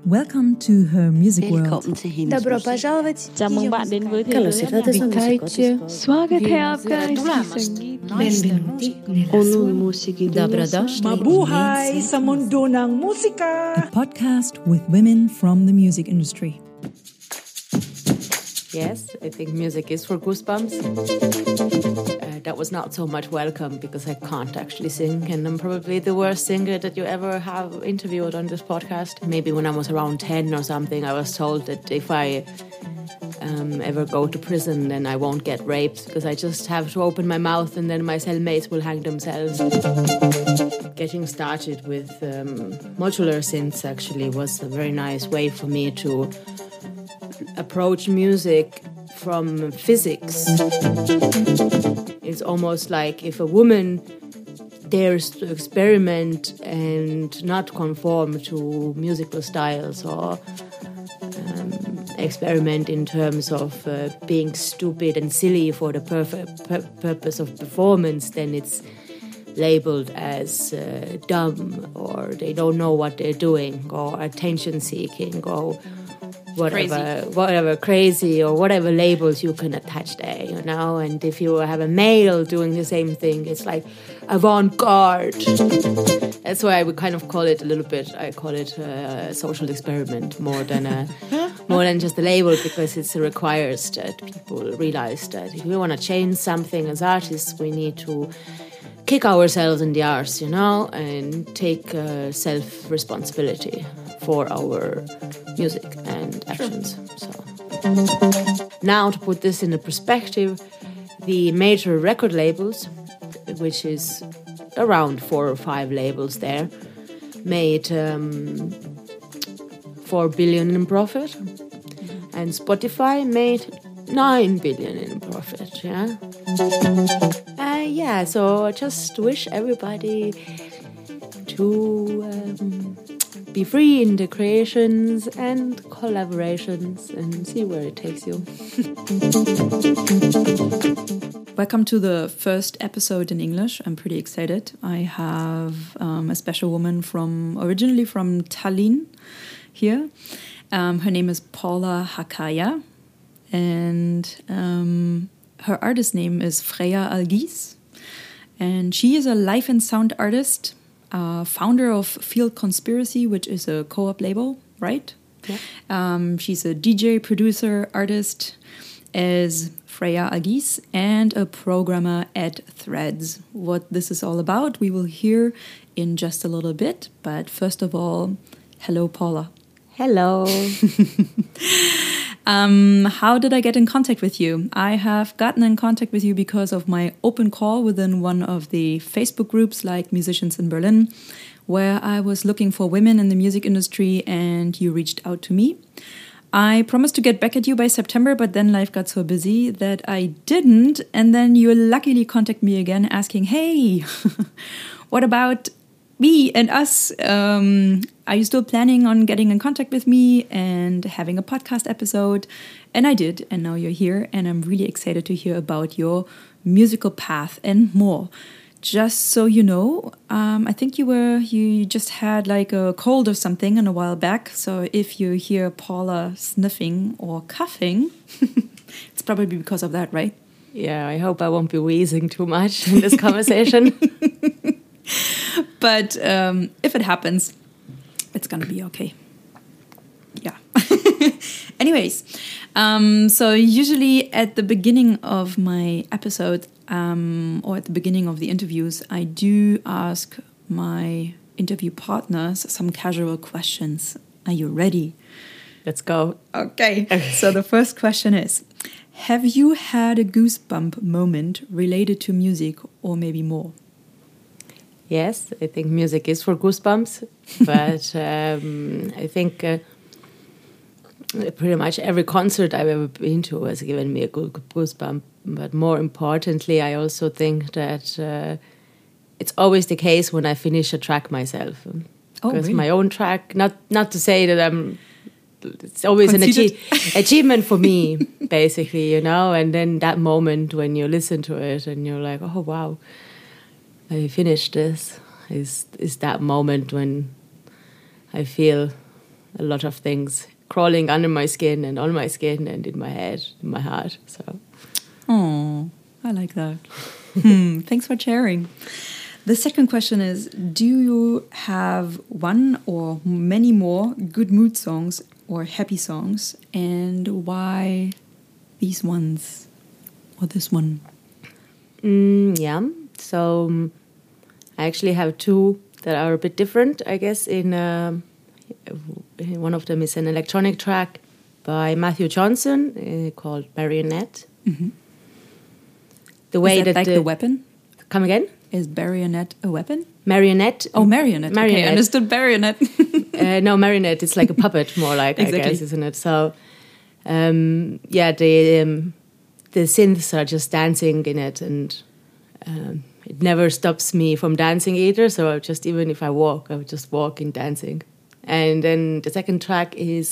Welcome to her music world. Velkommen til hendes Добро musik. пожаловать. Chào mừng bạn đến với thế Καλώς giới âm ήρθατε nhạc. στο Vitajcie. Swagathe aapka is संगीत. Benvenuti nella Onun musiki Dobro došli. Mabuhay sa mundo ng musika! A podcast with women from the music industry. Yes, I think music is for goosebumps. That was not so much welcome because I can't actually sing, and I'm probably the worst singer that you ever have interviewed on this podcast. Maybe when I was around 10 or something, I was told that if I ever go to prison, then I won't get raped because I just have to open my mouth and then my cellmates will hang themselves. Getting started with modular synths actually was a very nice way for me to approach music from physics. It's almost like if a woman dares to experiment and not conform to musical styles or experiment in terms of being stupid and silly for the purpose of performance, then it's labeled as dumb, or they don't know what they're doing, or attention seeking, or whatever crazy, or whatever labels you can attach there, you know. And if you have a male doing the same thing, it's like avant-garde. That's why we kind of call it a little bit. I call it a social experiment more than just a label, because it requires that people realize that if we want to change something as artists, we need to kick ourselves in the arse, you know, and take self-responsibility for our music and actions. So now, to put this in a perspective, the major record labels, which is around 4 or 5 labels there, made 4 billion in profit, and Spotify made 9 billion in profit. So I just wish everybody to be free in the creations and collaborations and see where it takes you. Welcome to the first episode in English. I'm pretty excited. I have a special woman originally from Tallinn here. Her name is Paula Hakaya, and her artist name is Freya Algis. And she is a life and sound artist, founder of Field Conspiracy, which is a co-op label, right? Yeah. She's a DJ, producer, artist as Freya Algis, and a programmer at Threads. What this is all about, we will hear in just a little bit. But first of all, hello, Paula. Hello. How did I get in contact with you? I have gotten in contact with you because of my open call within one of the Facebook groups like Musicians in Berlin, where I was looking for women in the music industry, and you reached out to me. I promised to get back at you by September, but then life got so busy that I didn't. And then you luckily contacted me again asking, hey, what about me and us? Are you still planning on getting in contact with me and having a podcast episode? And I did, and now you're here, and I'm really excited to hear about your musical path and more. Just so you know, I think you just had like a cold or something a while back. So if you hear Paula sniffing or coughing, it's probably because of that, right? Yeah, I hope I won't be wheezing too much in this conversation. But if it happens, it's going to be okay. Yeah. Anyways, so usually at the beginning of my episode or at the beginning of the interviews, I do ask my interview partners some casual questions. Are you ready? Let's go. Okay. So the first question is, have you had a goosebump moment related to music or maybe more? Yes, I think music is for goosebumps, but I think pretty much every concert I've ever been to has given me a good goosebump. But more importantly, I also think that it's always the case when I finish a track myself. Because really? my own track, not to say that it's always an achievement for me, basically, you know. And then that moment when you listen to it and you're like, oh, wow, I finished this, is that moment when I feel a lot of things crawling under my skin and on my skin and in my head, in my heart. So, oh, I like that. Thanks for sharing. The second question is, do you have one or many more good mood songs or happy songs, and why these ones or this one? Yeah, so I actually have two that are a bit different, I guess. In one of them is an electronic track by Matthew Johnson called Marionette. Mm-hmm. The way is that like the weapon? Come again? Is bayonet a weapon? Marionette. Oh, marionette. Okay, I understood bayonet. No, marionette. It's like a puppet, more like, exactly. I guess, isn't it? So, yeah, the synths are just dancing in it, and it never stops me from dancing either. So just even if I walk, I would just walk in dancing. And then the second track is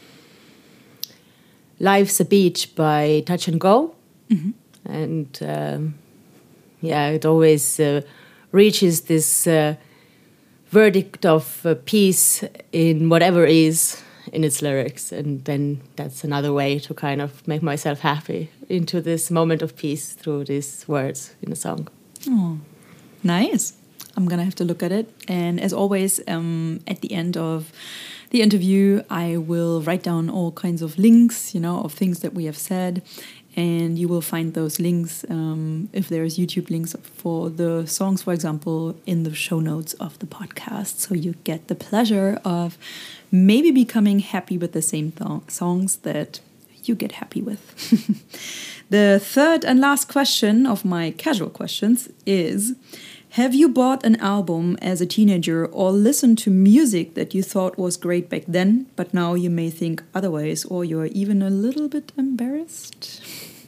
"Life's a Beach" by Touch and Go, and yeah, it always reaches this verdict of peace in whatever is in its lyrics, and then that's another way to kind of make myself happy into this moment of peace through these words in a song. Oh, nice. I'm gonna have to look at it. And as always, at the end of the interview, I will write down all kinds of links, of things that we have said. And you will find those links, if there's YouTube links for the songs, for example, in the show notes of the podcast. So you get the pleasure of maybe becoming happy with the same songs that you get happy with. The third and last question of my casual questions is, have you bought an album as a teenager or listened to music that you thought was great back then, but now you may think otherwise, or you're even a little bit embarrassed?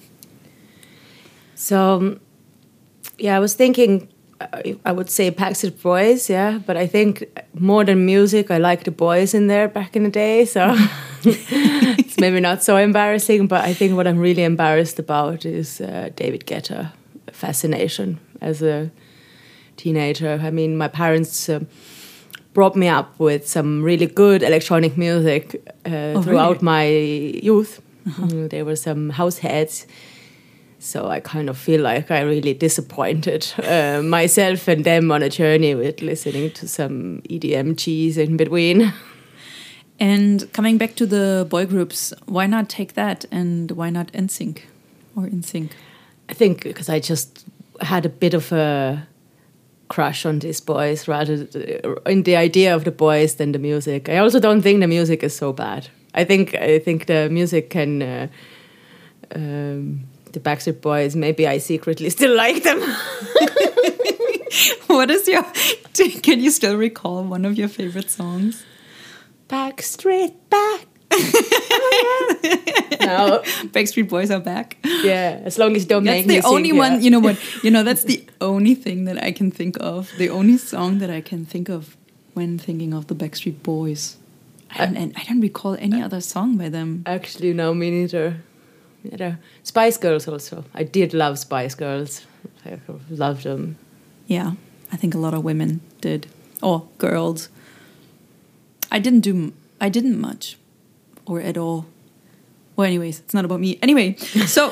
So, yeah, I was thinking, I would say Backstreet Boys, yeah, but I think more than music, I like the boys in there back in the day, so it's maybe not so embarrassing, but I think what I'm really embarrassed about is David Guetta fascination as a teenager. I mean, my parents brought me up with some really good electronic music throughout my youth. There were some house heads. So I kind of feel like I really disappointed myself and them on a journey with listening to some EDM cheese in between. And coming back to the boy groups, why not take that and why not NSYNC or NSYNC? I think because I just had a bit of a crush on these boys rather in the idea of the boys than the music. I also don't think the music is so bad. I think the music can... the Backstreet Boys, maybe I secretly still like them. What is your... Can you still recall one of your favorite songs? Backstreet back. No. Backstreet Boys are back. Yeah, as long as you don't make me sing. That's the only one, you know what? That's the only thing that I can think of. The only song that I can think of when thinking of the Backstreet Boys. And I don't recall any other song by them. Actually, no, me neither. Yeah, Spice Girls also. I did love Spice Girls. I loved them. Yeah, I think a lot of women did. Or girls. I didn't much. Or at all. Well, anyways, it's not about me. Anyway, so...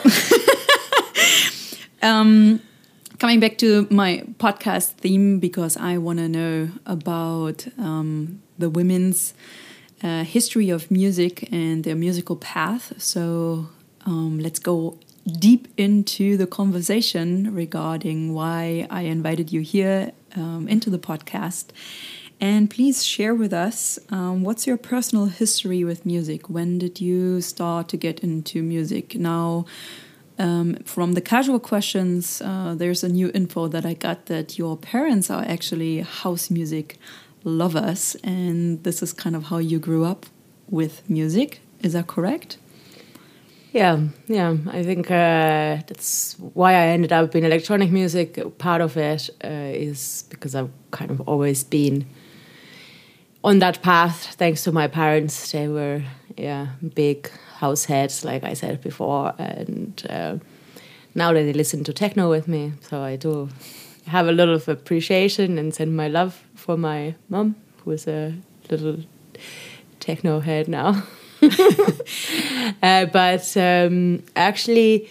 coming back to my podcast theme, because I want to know about the women's history of music and their musical path. So... let's go deep into the conversation regarding why I invited you here into the podcast. And please share with us, what's your personal history with music? When did you start to get into music? Now, from the casual questions, there's a new info that I got that your parents are actually house music lovers. And this is kind of how you grew up with music. Is that correct? Yeah. I think that's why I ended up in electronic music. Part of it is because I've kind of always been on that path, thanks to my parents. They were, big house heads, like I said before. And now that they listen to techno with me, so I do have a lot of appreciation and send my love for my mom, who is a little techno head now. But actually,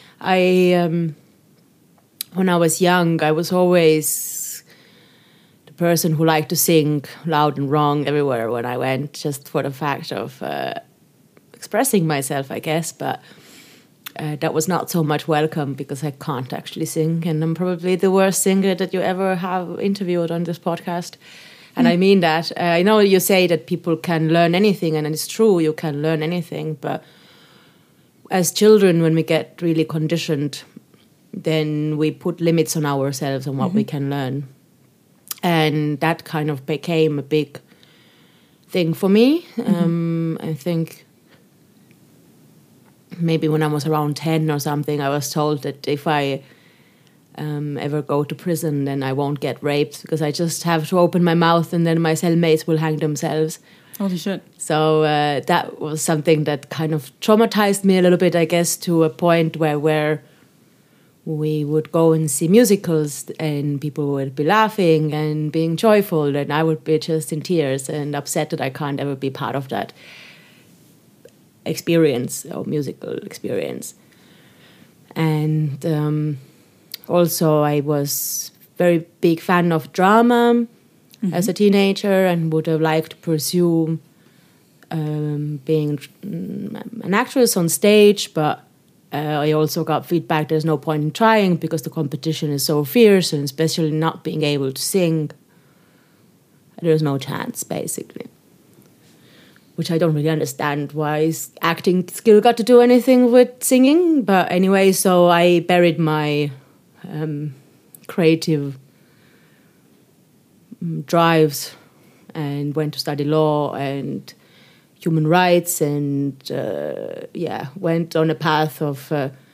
when I was young, I was always the person who liked to sing loud and wrong everywhere when I went, just for the fact of expressing myself, I guess. But that was not so much welcome because I can't actually sing, and I'm probably the worst singer that you ever have interviewed on this podcast. And I mean that. I know you say that people can learn anything, and it's true, you can learn anything. But as children, when we get really conditioned, then we put limits on ourselves on what we can learn. And that kind of became a big thing for me. I think maybe when I was around 10 or something, I was told that if I ever go to prison, then I won't get raped because I just have to open my mouth and then my cellmates will hang themselves. Holy shit. So that was something that kind of traumatized me a little bit, I guess, to a point where we would go and see musicals and people would be laughing and being joyful, and I would be just in tears and upset that I can't ever be part of that experience or musical experience. And also, I was very big fan of drama as a teenager and would have liked to pursue being an actress on stage, but I also got feedback there's no point in trying because the competition is so fierce, and especially not being able to sing, there's no chance, basically. Which I don't really understand why acting skill got to do anything with singing. But anyway, so I buried my creative drives and went to study law and human rights, and went on a path of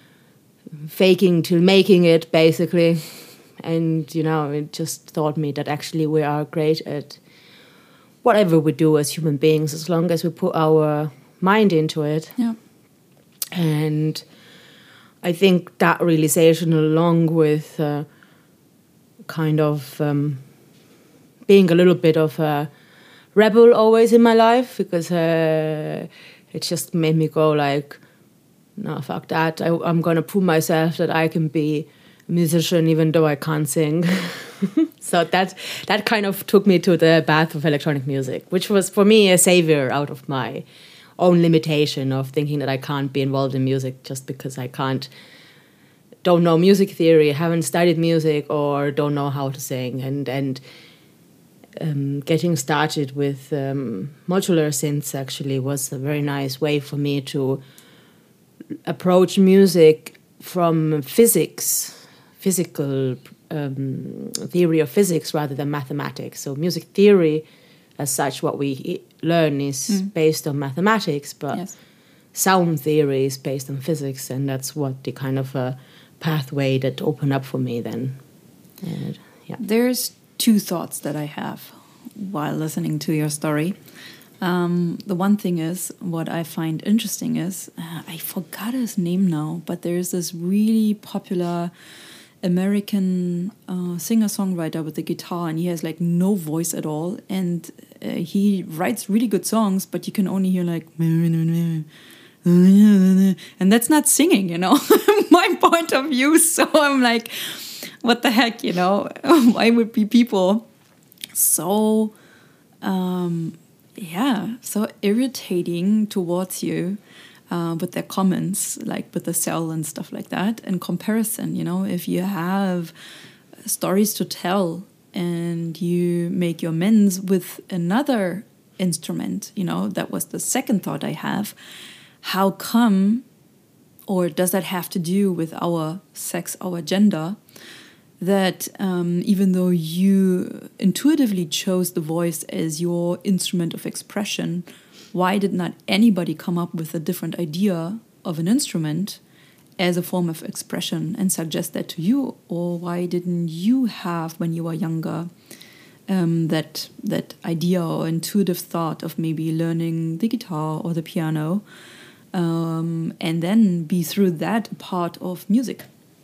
faking till making it, basically. And, it just taught me that actually we are great at whatever we do as human beings, as long as we put our mind into it. Yeah. And I think that realization, along with kind of being a little bit of a rebel always in my life, because it just made me go like, no, fuck that. I'm going to prove myself that I can be a musician even though I can't sing. So that kind of took me to the path of electronic music, which was for me a savior out of my own limitation of thinking that I can't be involved in music just because I don't know music theory, haven't studied music, or don't know how to sing. And getting started with modular synths actually was a very nice way for me to approach music from physical theory of physics rather than mathematics. So music theory as such, what we learn is based on mathematics, but sound theory is based on physics, and that's what the kind of pathway that opened up for me then. There's two thoughts that I have while listening to your story. The one thing is, what I find interesting is, I forgot his name now, but there's this really popular American singer-songwriter with the guitar, and he has like no voice at all, and he writes really good songs, but you can only hear like, and that's not singing, my point of view. So I'm like, what the heck, why would be people so so irritating towards you with their comments, like with the cell and stuff like that. In comparison, if you have stories to tell and you make your amends with another instrument, that was the second thought I have. How come, or does that have to do with our sex, our gender, that even though you intuitively chose the voice as your instrument of expression, why did not anybody come up with a different idea of an instrument as a form of expression and suggest that to you? Or why didn't you have, when you were younger, that idea or intuitive thought of maybe learning the guitar or the piano, and then be through that part of music?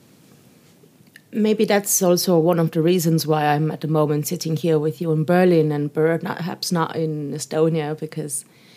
Maybe that's also one of the reasons why I'm at the moment sitting here with you in Berlin and perhaps not in Estonia, because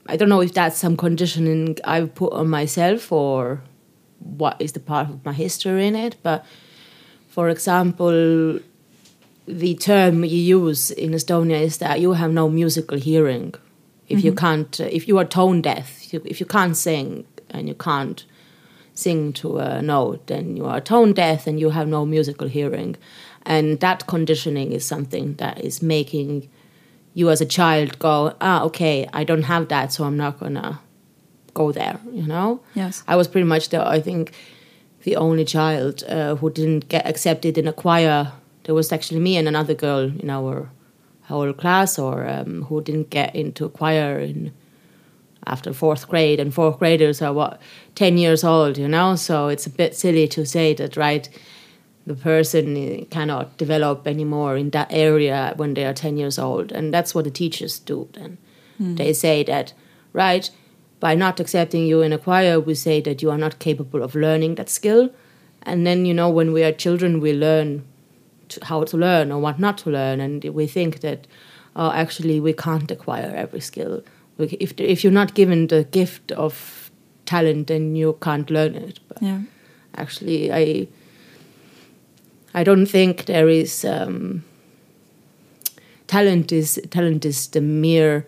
I don't know if that's some conditioning I've put on myself or what is the part of my history in it. But, for example, the term you use in Estonia is that you have no musical hearing. If you can't, if you are tone deaf, if you can't sing and you can't sing to a note, then you are tone deaf and you have no musical hearing. And that conditioning is something that is making you as a child go, okay, I don't have that, so I'm not going to go there, you know? Yes. I was pretty much, I think, the only child who didn't get accepted in a choir. There was actually me and another girl in our whole class who didn't get into a choir after 4th grade. And 4th graders are, 10 years old, you know? So it's a bit silly to say that, right, the person cannot develop anymore in that area when they are 10 years old. And that's what the teachers do then. They say that, right, by not accepting you in a choir, we say that you are not capable of learning that skill. And then, you know, when we are children, we learn how to learn or what not to learn. And we think that, actually, we can't acquire every skill. If you're not given the gift of talent, then you can't learn it. But actually, I don't think there is talent is the mere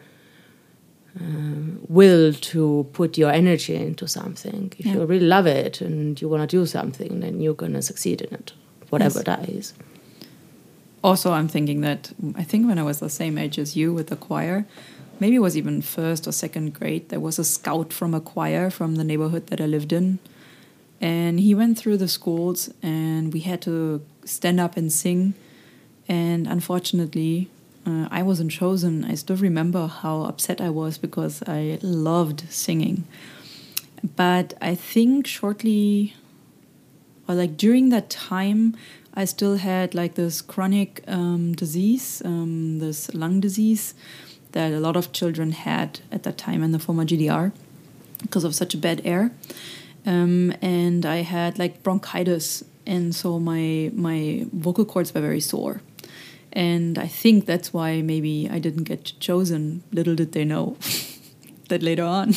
will to put your energy into something. If you really love it and you want to do something, then you're going to succeed in it, whatever that is. Also, I'm thinking that I think when I was the same age as you with the choir, maybe it was even 1st or 2nd grade, there was a scout from a choir from the neighborhood that I lived in. And he went through the schools and we had to stand up and sing. And unfortunately, I wasn't chosen. I still remember how upset I was because I loved singing. But I think shortly, or like during that time, I still had like this chronic disease, this lung disease that a lot of children had at that time in the former GDR because of such a bad air. And I had like bronchitis, and so my vocal cords were very sore. And I think that's why maybe I didn't get chosen. Little did they know that later on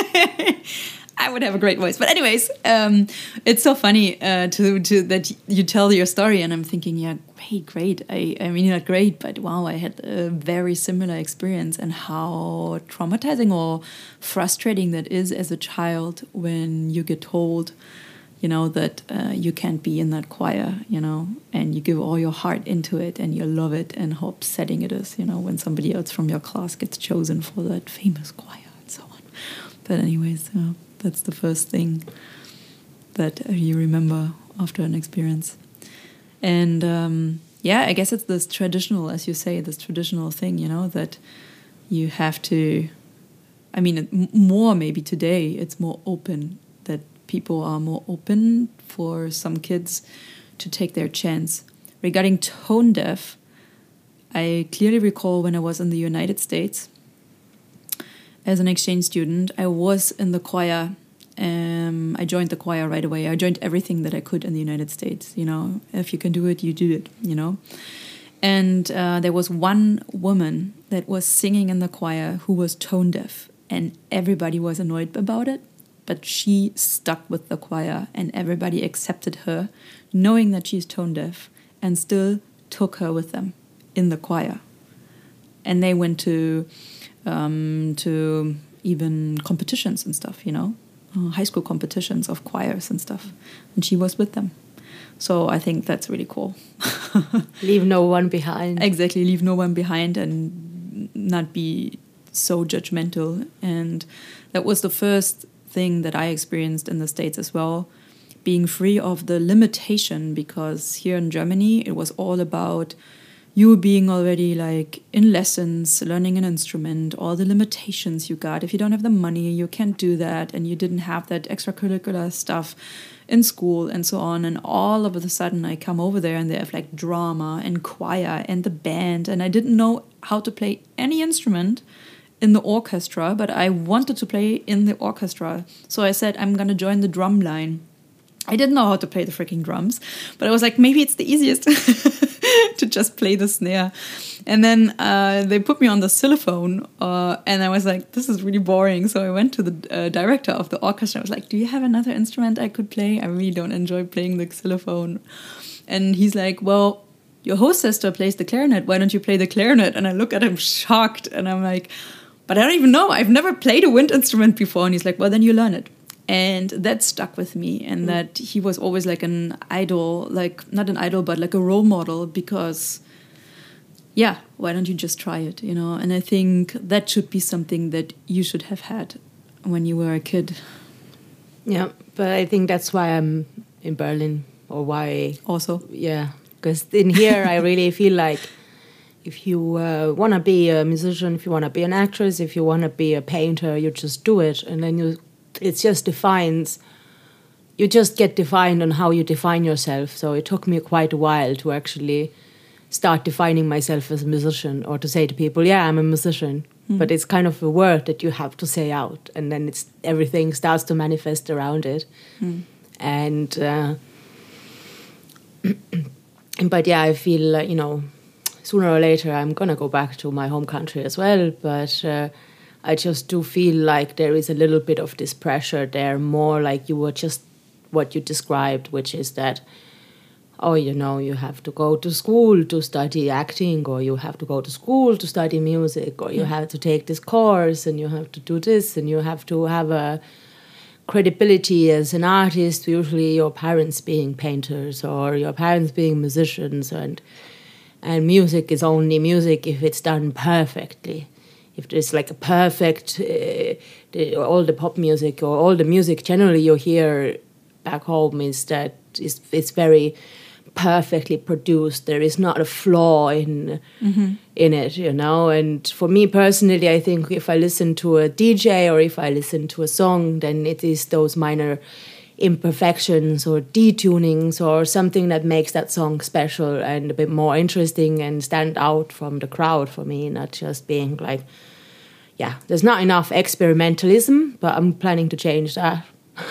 I would have a great voice. But anyways, it's so funny to that you tell your story, and I'm thinking, yeah, great. I mean, not great, but wow, I had a very similar experience, and how traumatizing or frustrating that is as a child when you get told, you know, that you can't be in that choir, you know, and you give all your heart into it and you love it, and how upsetting it is, you know, when somebody else from your class gets chosen for that famous choir and so on. But anyways, that's the first thing that you remember after an experience. And I guess it's this traditional, as you say, this traditional thing, you know, that you have to, I mean, more maybe today, it's more open, that people are more open for some kids to take their chance. Regarding tone deaf, I clearly recall when I was in the United States as an exchange student, I was in the choir. I joined the choir right away. I joined everything that I could in the United States. You know, if you can do it, you do it, you know. And there was one woman that was singing in the choir who was tone deaf, and everybody was annoyed about it. But she stuck with the choir, and everybody accepted her, knowing that she's tone deaf, and still took her with them in the choir. And they went to even competitions and stuff, you know, high school competitions of choirs and stuff. And she was with them. So I think that's really cool. Leave no one behind. Exactly, leave no one behind and not be so judgmental. And that was the first thing that I experienced in the States as well, being free of the limitation, because here in Germany it was all about you being already like in lessons, learning an instrument, all the limitations you got. If you don't have the money, you can't do that, and you didn't have that extracurricular stuff in school and so on. And all of a sudden I come over there and they have like drama and choir and the band, and I didn't know how to play any instrument in the orchestra, but I wanted to play in the orchestra. So I said, I'm going to join the drum line. I didn't know how to play the freaking drums, but I was like, maybe it's the easiest to just play the snare. And then they put me on the xylophone, and I was like, this is really boring. So I went to the director of the orchestra. I was like, do you have another instrument I could play? I really don't enjoy playing the xylophone. And he's like, well, your host sister plays the clarinet. Why don't you play the clarinet? And I look at him shocked, and I'm like, but I don't even know. I've never played a wind instrument before. And he's like, well, then you learn it. And that stuck with me, and that he was always like an idol, like not an idol, but like a role model, because, yeah, why don't you just try it, you know? And I think that should be something that you should have had when you were a kid. Yeah, but I think that's why I'm in Berlin, or why... Also. Yeah, because in here I really feel like if you want to be a musician, if you want to be an actress, if you want to be a painter, you just do it, and then it just defines, you just get defined on how you define yourself. So it took me quite a while to actually start defining myself as a musician, or to say to people, yeah, I'm a musician. But it's kind of a word that you have to say out, and then everything starts to manifest around it. And but yeah, I feel you know, sooner or later I'm gonna go back to my home country as well, but I just do feel like there is a little bit of this pressure there, more like you were just what you described, which is that, oh, you know, you have to go to school to study acting, or you have to go to school to study music, or you have to take this course, and you have to do this, and you have to have a credibility as an artist, usually your parents being painters or your parents being musicians, and music is only music if it's done perfectly. If there's like a perfect, all the pop music or all the music generally you hear back home is that it's very perfectly produced. There is not a flaw in it, you know. And for me personally, I think if I listen to a DJ or if I listen to a song, then it is those minor imperfections or detunings or something that makes that song special and a bit more interesting and stand out from the crowd for me, not just being like, yeah, there's not enough experimentalism, but I'm planning to change that.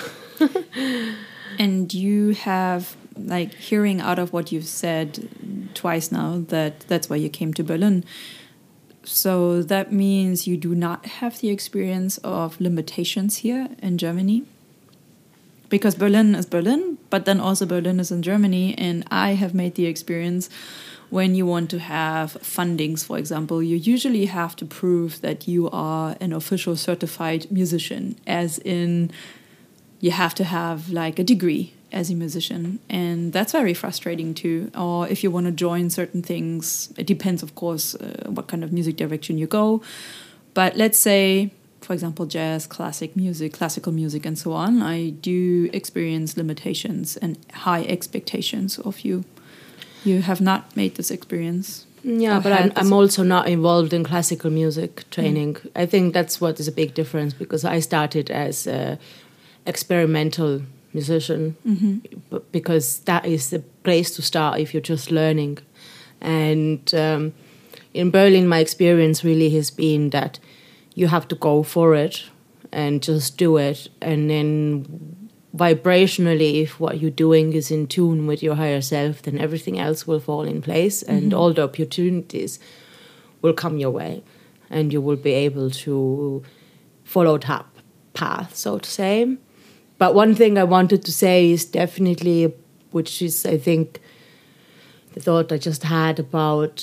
And you have, like, hearing out of what you've said twice now, that's why you came to Berlin. So that means you do not have the experience of limitations here in Germany? Because Berlin is Berlin, but then also Berlin is in Germany, and I have made the experience when you want to have fundings, for example, you usually have to prove that you are an official certified musician, as in you have to have like a degree as a musician, and that's very frustrating too. Or if you want to join certain things, it depends, of course, what kind of music direction you go. But let's say, for example, jazz, classical music, and so on, I do experience limitations and high expectations of you. You have not made this experience. Yeah, but I'm also not involved in classical music training. I think that's what is a big difference, because I started as an experimental musician, because that is the place to start if you're just learning. And in Berlin, my experience really has been that you have to go for it and just do it, and then vibrationally, if what you're doing is in tune with your higher self, then everything else will fall in place, and all the opportunities will come your way, and you will be able to follow that path, so to say. But one thing I wanted to say is definitely, which is, I think, the thought I just had about,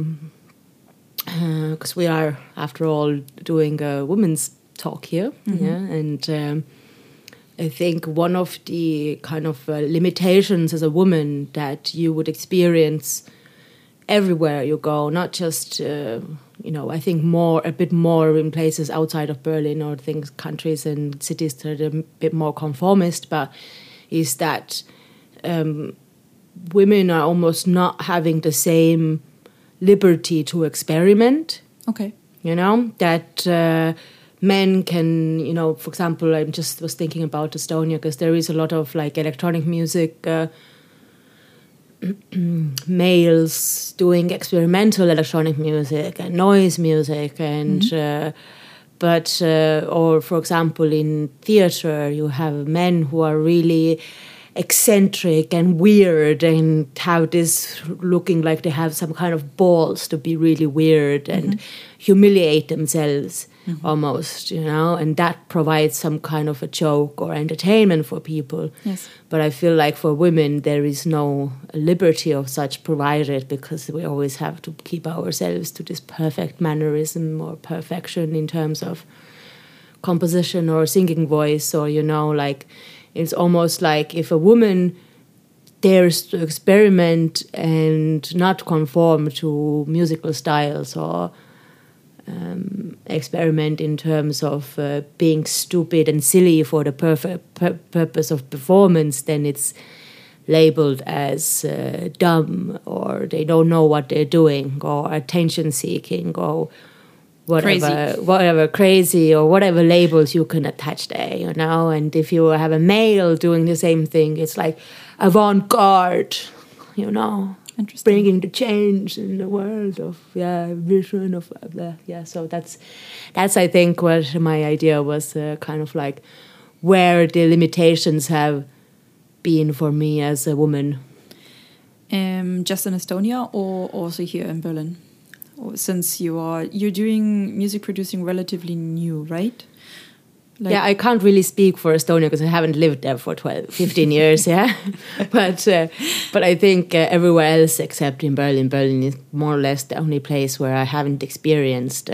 because we are, after all, doing a women's talk here, and I think one of the kind of limitations as a woman that you would experience everywhere you go, not just, I think a bit more in places outside of Berlin, or countries and cities that are a bit more conformist, but is that women are almost not having the same liberty to experiment. Okay. You know, that men can, for example, I just was thinking about Estonia, because there is a lot of like electronic music, males doing experimental electronic music and noise music, and or for example in theater you have men who are really eccentric and weird and have this looking like they have some kind of balls to be really weird and humiliate themselves almost, and that provides some kind of a joke or entertainment for people. Yes. But I feel like for women there is no liberty of such provided, because we always have to keep ourselves to this perfect mannerism or perfection in terms of composition or singing voice, or like it's almost like if a woman dares to experiment and not conform to musical styles or experiment in terms of being stupid and silly for the purpose of performance, then it's labeled as dumb, or they don't know what they're doing, or attention-seeking, or whatever crazy, or whatever labels you can attach there, And if you have a male doing the same thing, it's like avant-garde, Interesting. bringing the change in the world of vision of So that's I think what my idea was, kind of like where the limitations have been for me as a woman. Just in Estonia or also here in Berlin? Since you're doing music producing relatively new, right? I can't really speak for Estonia because I haven't lived there for 15 years, but I think everywhere else except in Berlin is more or less the only place where I haven't experienced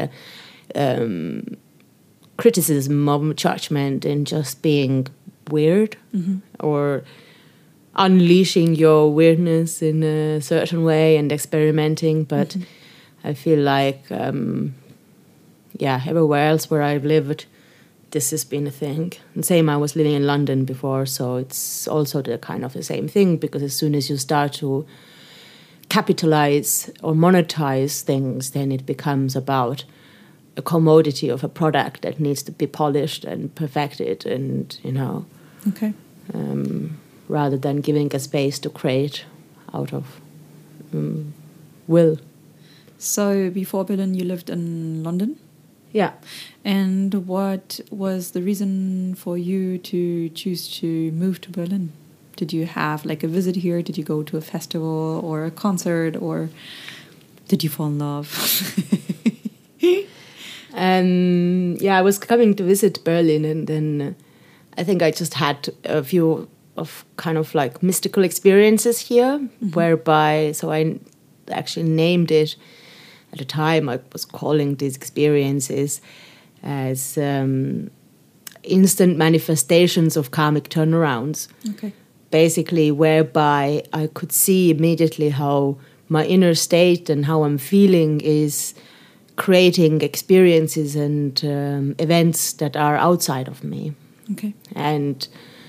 criticism of judgment and just being weird or unleashing your weirdness in a certain way and experimenting, but I feel like, everywhere else where I've lived, this has been a thing. And same, I was living in London before, so it's also the kind of the same thing, because as soon as you start to capitalize or monetize things, then it becomes about a commodity of a product that needs to be polished and perfected and, Okay. Rather than giving a space to create out of will. So before Berlin, you lived in London? Yeah. And what was the reason for you to choose to move to Berlin? Did you have like a visit here? Did you go to a festival or a concert, or did you fall in love? I was coming to visit Berlin, and then I think I just had a few of kind of like mystical experiences here, whereby, so I actually named it. At the time, I was calling these experiences as instant manifestations of karmic turnarounds. Okay. Basically, whereby I could see immediately how my inner state and how I'm feeling is creating experiences and events that are outside of me. Okay. And,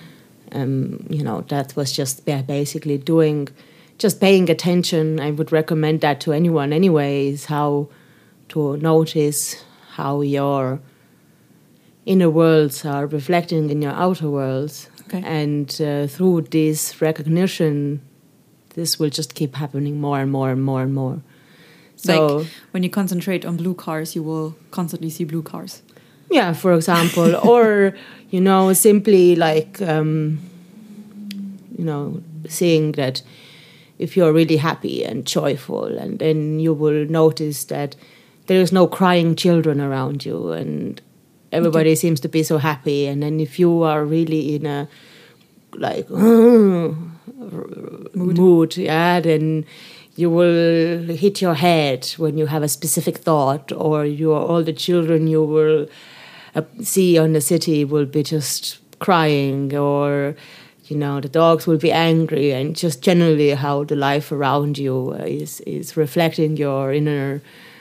that was just basically just paying attention. I would recommend that to anyone anyway, is how to notice how your inner worlds are reflecting in your outer worlds. Okay. And through this recognition, this will just keep happening more and more and more and more. So, like when you concentrate on blue cars, you will constantly see blue cars. Yeah, for example, or, simply like, seeing that if you're really happy and joyful, and then you will notice that there is no crying children around you and everybody seems to be so happy. And then if you are really in a like mood, then you will hit your head when you have a specific thought, or all the children you will see on the city will be just crying, or the dogs will be angry, and just generally how the life around you is reflecting your inner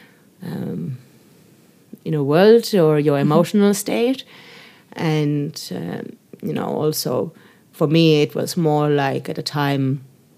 world or your emotional state. And also for me it was more like at a time,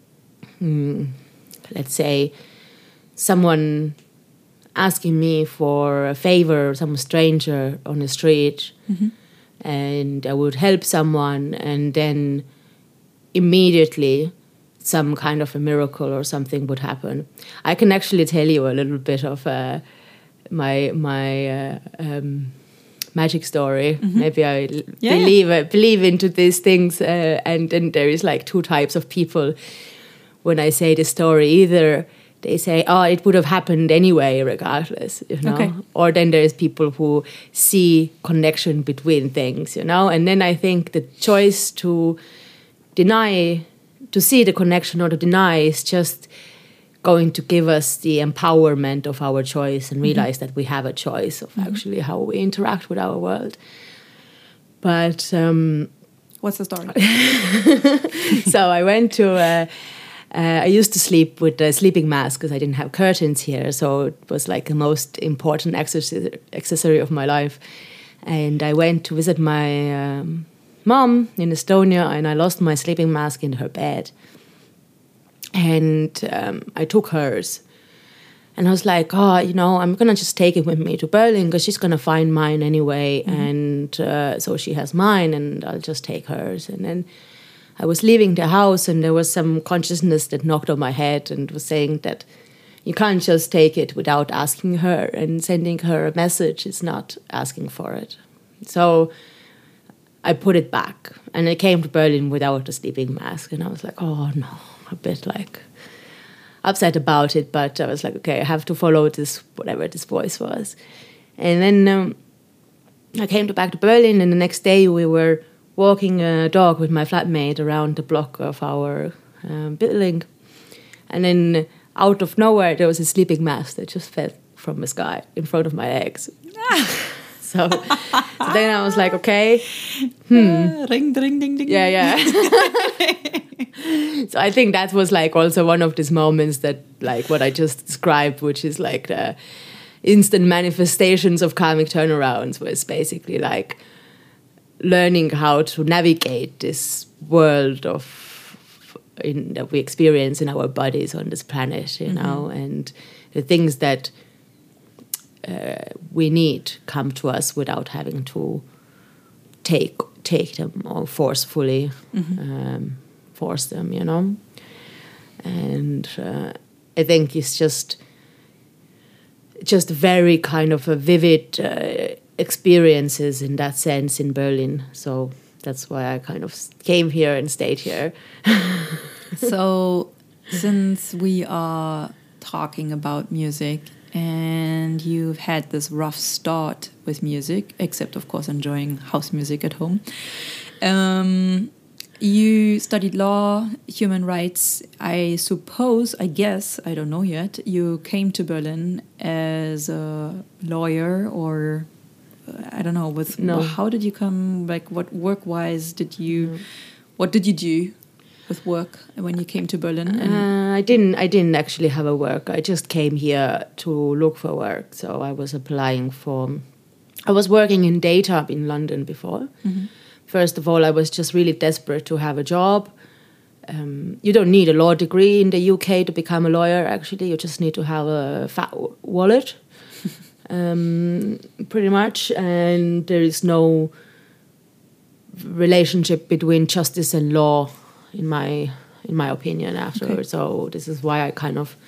let's say someone asking me for a favor, some stranger on the street, and I would help someone, and then immediately some kind of a miracle or something would happen. I can actually tell you a little bit of my magic story. Mm-hmm. Maybe I believe into these things, and then there is like two types of people when I say the story. Either they say, "Oh, it would have happened anyway, regardless," you know, Okay. or then there's people who see connection between things, you know, and then I think the choice to see the connection or to deny is just going to give us the empowerment of our choice and realize that we have a choice of actually how we interact with our world. But What's the story? so I went to. I used to sleep with a sleeping mask because I didn't have curtains here, so it was like the most important accessory of my life. And I went to visit my mom in Estonia, and I lost my sleeping mask in her bed. And I took hers. And I was like, oh, you know, I'm going to just take it with me to Berlin because she's going to find mine anyway. And so she has mine and I'll just take hers. And then I was leaving the house and there was some consciousness that knocked on my head and was saying that you can't just take it without asking her, and sending her a message is not asking for it. So I put it back and I came to Berlin without a sleeping mask. And I was like, oh no, a bit like upset about it, but I was like, okay, I have to follow this, whatever this voice was. And then I came back to Berlin, and the next day we were walking a dog with my flatmate around the block of our building. And then out of nowhere, there was a sleeping mask that just fell from the sky in front of my legs. So then I was like, okay. Ring, ding, ding, ding. Yeah. So I think that was like also one of these moments that, like what I just described, which is like the instant manifestations of karmic turnarounds, was basically like learning how to navigate this world that we experience in our bodies on this planet, you know, and the things that we need come to us without having to take them or forcefully force them, you know. And I think it's just very kind of a vivid experiences in that sense in Berlin. So that's why I kind of came here and stayed here. So since we are talking about music and you've had this rough start with music, except of course enjoying house music at home, you studied law, human rights. I guess, I don't know yet, you came to Berlin as a lawyer, or I don't know, how did you come, like what work-wise what did you do with work when you came to Berlin? I didn't actually have a work. I just came here to look for work. So I was I was working in data in London before. First of all, I was just really desperate to have a job. You don't need a law degree in the UK to become a lawyer, actually. You just need to have a fat wallet, pretty much. And there is no relationship between justice and law, in my opinion, afterwards. Okay. So this is why I kind of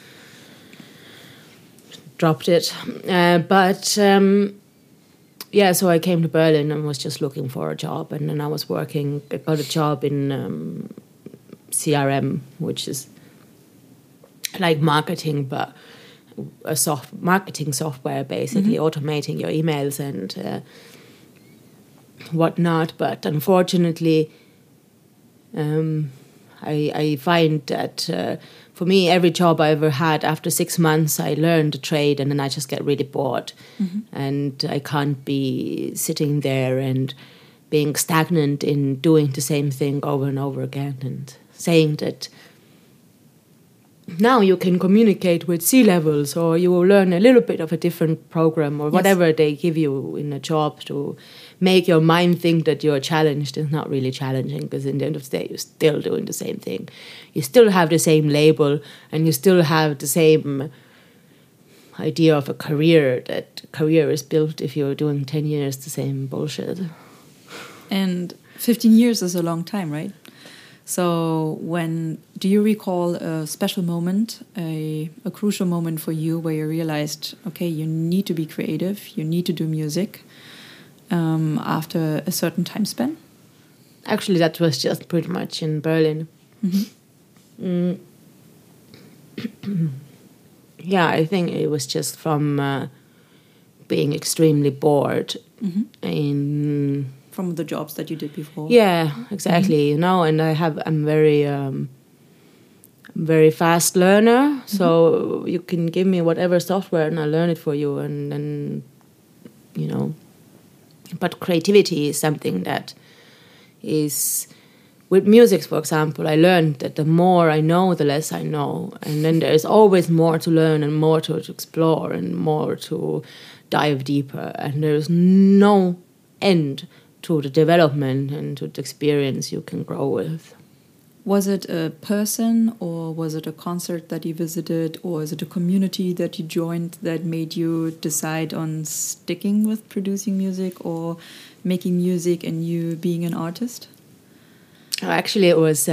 dropped it. So I came to Berlin and was just looking for a job, and then I got a job in CRM, which is like marketing, but a marketing software, basically automating your emails and whatnot. But unfortunately, I find that for me, every job I ever had, after 6 months, I learned a trade and then I just get really bored. And I can't be sitting there and being stagnant in doing the same thing over and over again and saying that now you can communicate with C-levels, or you will learn a little bit of a different program, or whatever they give you in a job to make your mind think that you're challenged. Is not really challenging, because in the end of the day, you're still doing the same thing. You still have the same label, and you still have the same idea of a career, that career is built if you're doing 10 years the same bullshit. And 15 years is a long time, right? So do you recall a special moment, a crucial moment for you where you realized, okay, you need to be creative, you need to do music? after a certain time span? Actually, that was just pretty much in Berlin. Yeah, I think it was just from being extremely bored from the jobs that you did before. Yeah, exactly. You know, and I'm very fast learner, so you can give me whatever software and I'll learn it for you, and then, you know. But creativity is something that is, with music, for example, I learned that the more I know, the less I know. And then there's always more to learn and more to explore and more to dive deeper. And there's no end to the development and to the experience you can grow with. Was it a person, or was it a concert that you visited, or is it a community that you joined that made you decide on sticking with producing music or making music and you being an artist? Actually, it was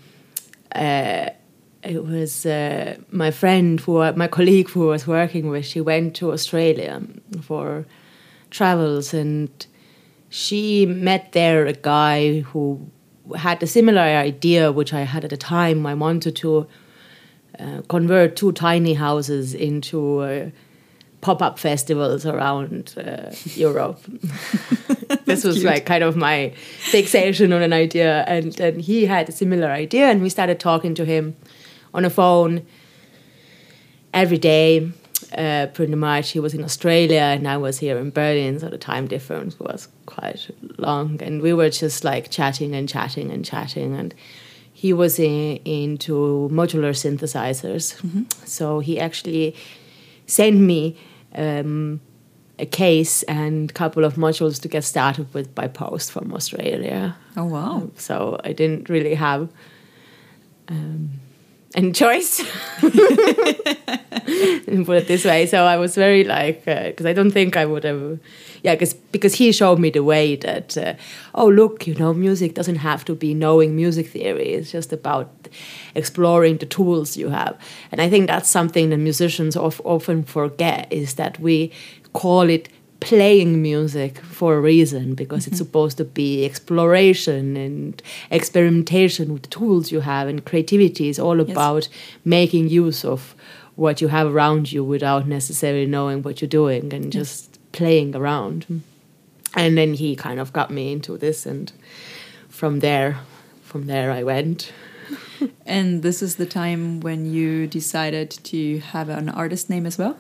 my friend, my colleague who I was working with. She went to Australia for travels, and she met there a guy who had a similar idea, which I had at the time. I wanted to convert 2 tiny houses into pop-up festivals around Europe. This was like kind of my fixation on an idea, and he had a similar idea, and we started talking to him on a phone every day. Pretty much, he was in Australia and I was here in Berlin, so the time difference was quite long, and we were just like chatting, and he was into modular synthesizers. So he actually sent me a case and a couple of modules to get started with by post from Australia. Oh, wow. So I didn't really have any choice, put it this way. So I was very like, because I don't think I would have, because he showed me the way that, oh, look, you know, music doesn't have to be knowing music theory. It's just about exploring the tools you have. And I think that's something that musicians often forget, is that we call it playing music for a reason, because it's supposed to be exploration and experimentation with the tools you have, and creativity is all about making use of what you have around you without necessarily knowing what you're doing, and just playing around. And then he kind of got me into this, and from there I went. And this is the time when you decided to have an artist name as well?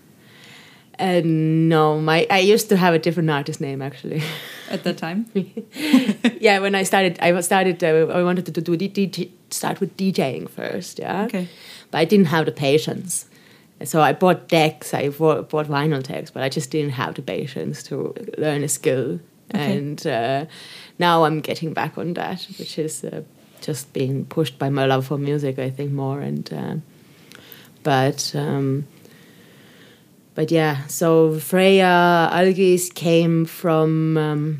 No, I used to have a different artist name actually. At that time? Yeah, when I started, I wanted to start with DJing first, yeah. Okay. But I didn't have the patience. So I bought decks, I bought vinyl decks, but I just didn't have the patience to learn a skill. Okay. And now I'm getting back on that, which is just being pushed by my love for music, I think, more. And But yeah, so Freya Algis came from,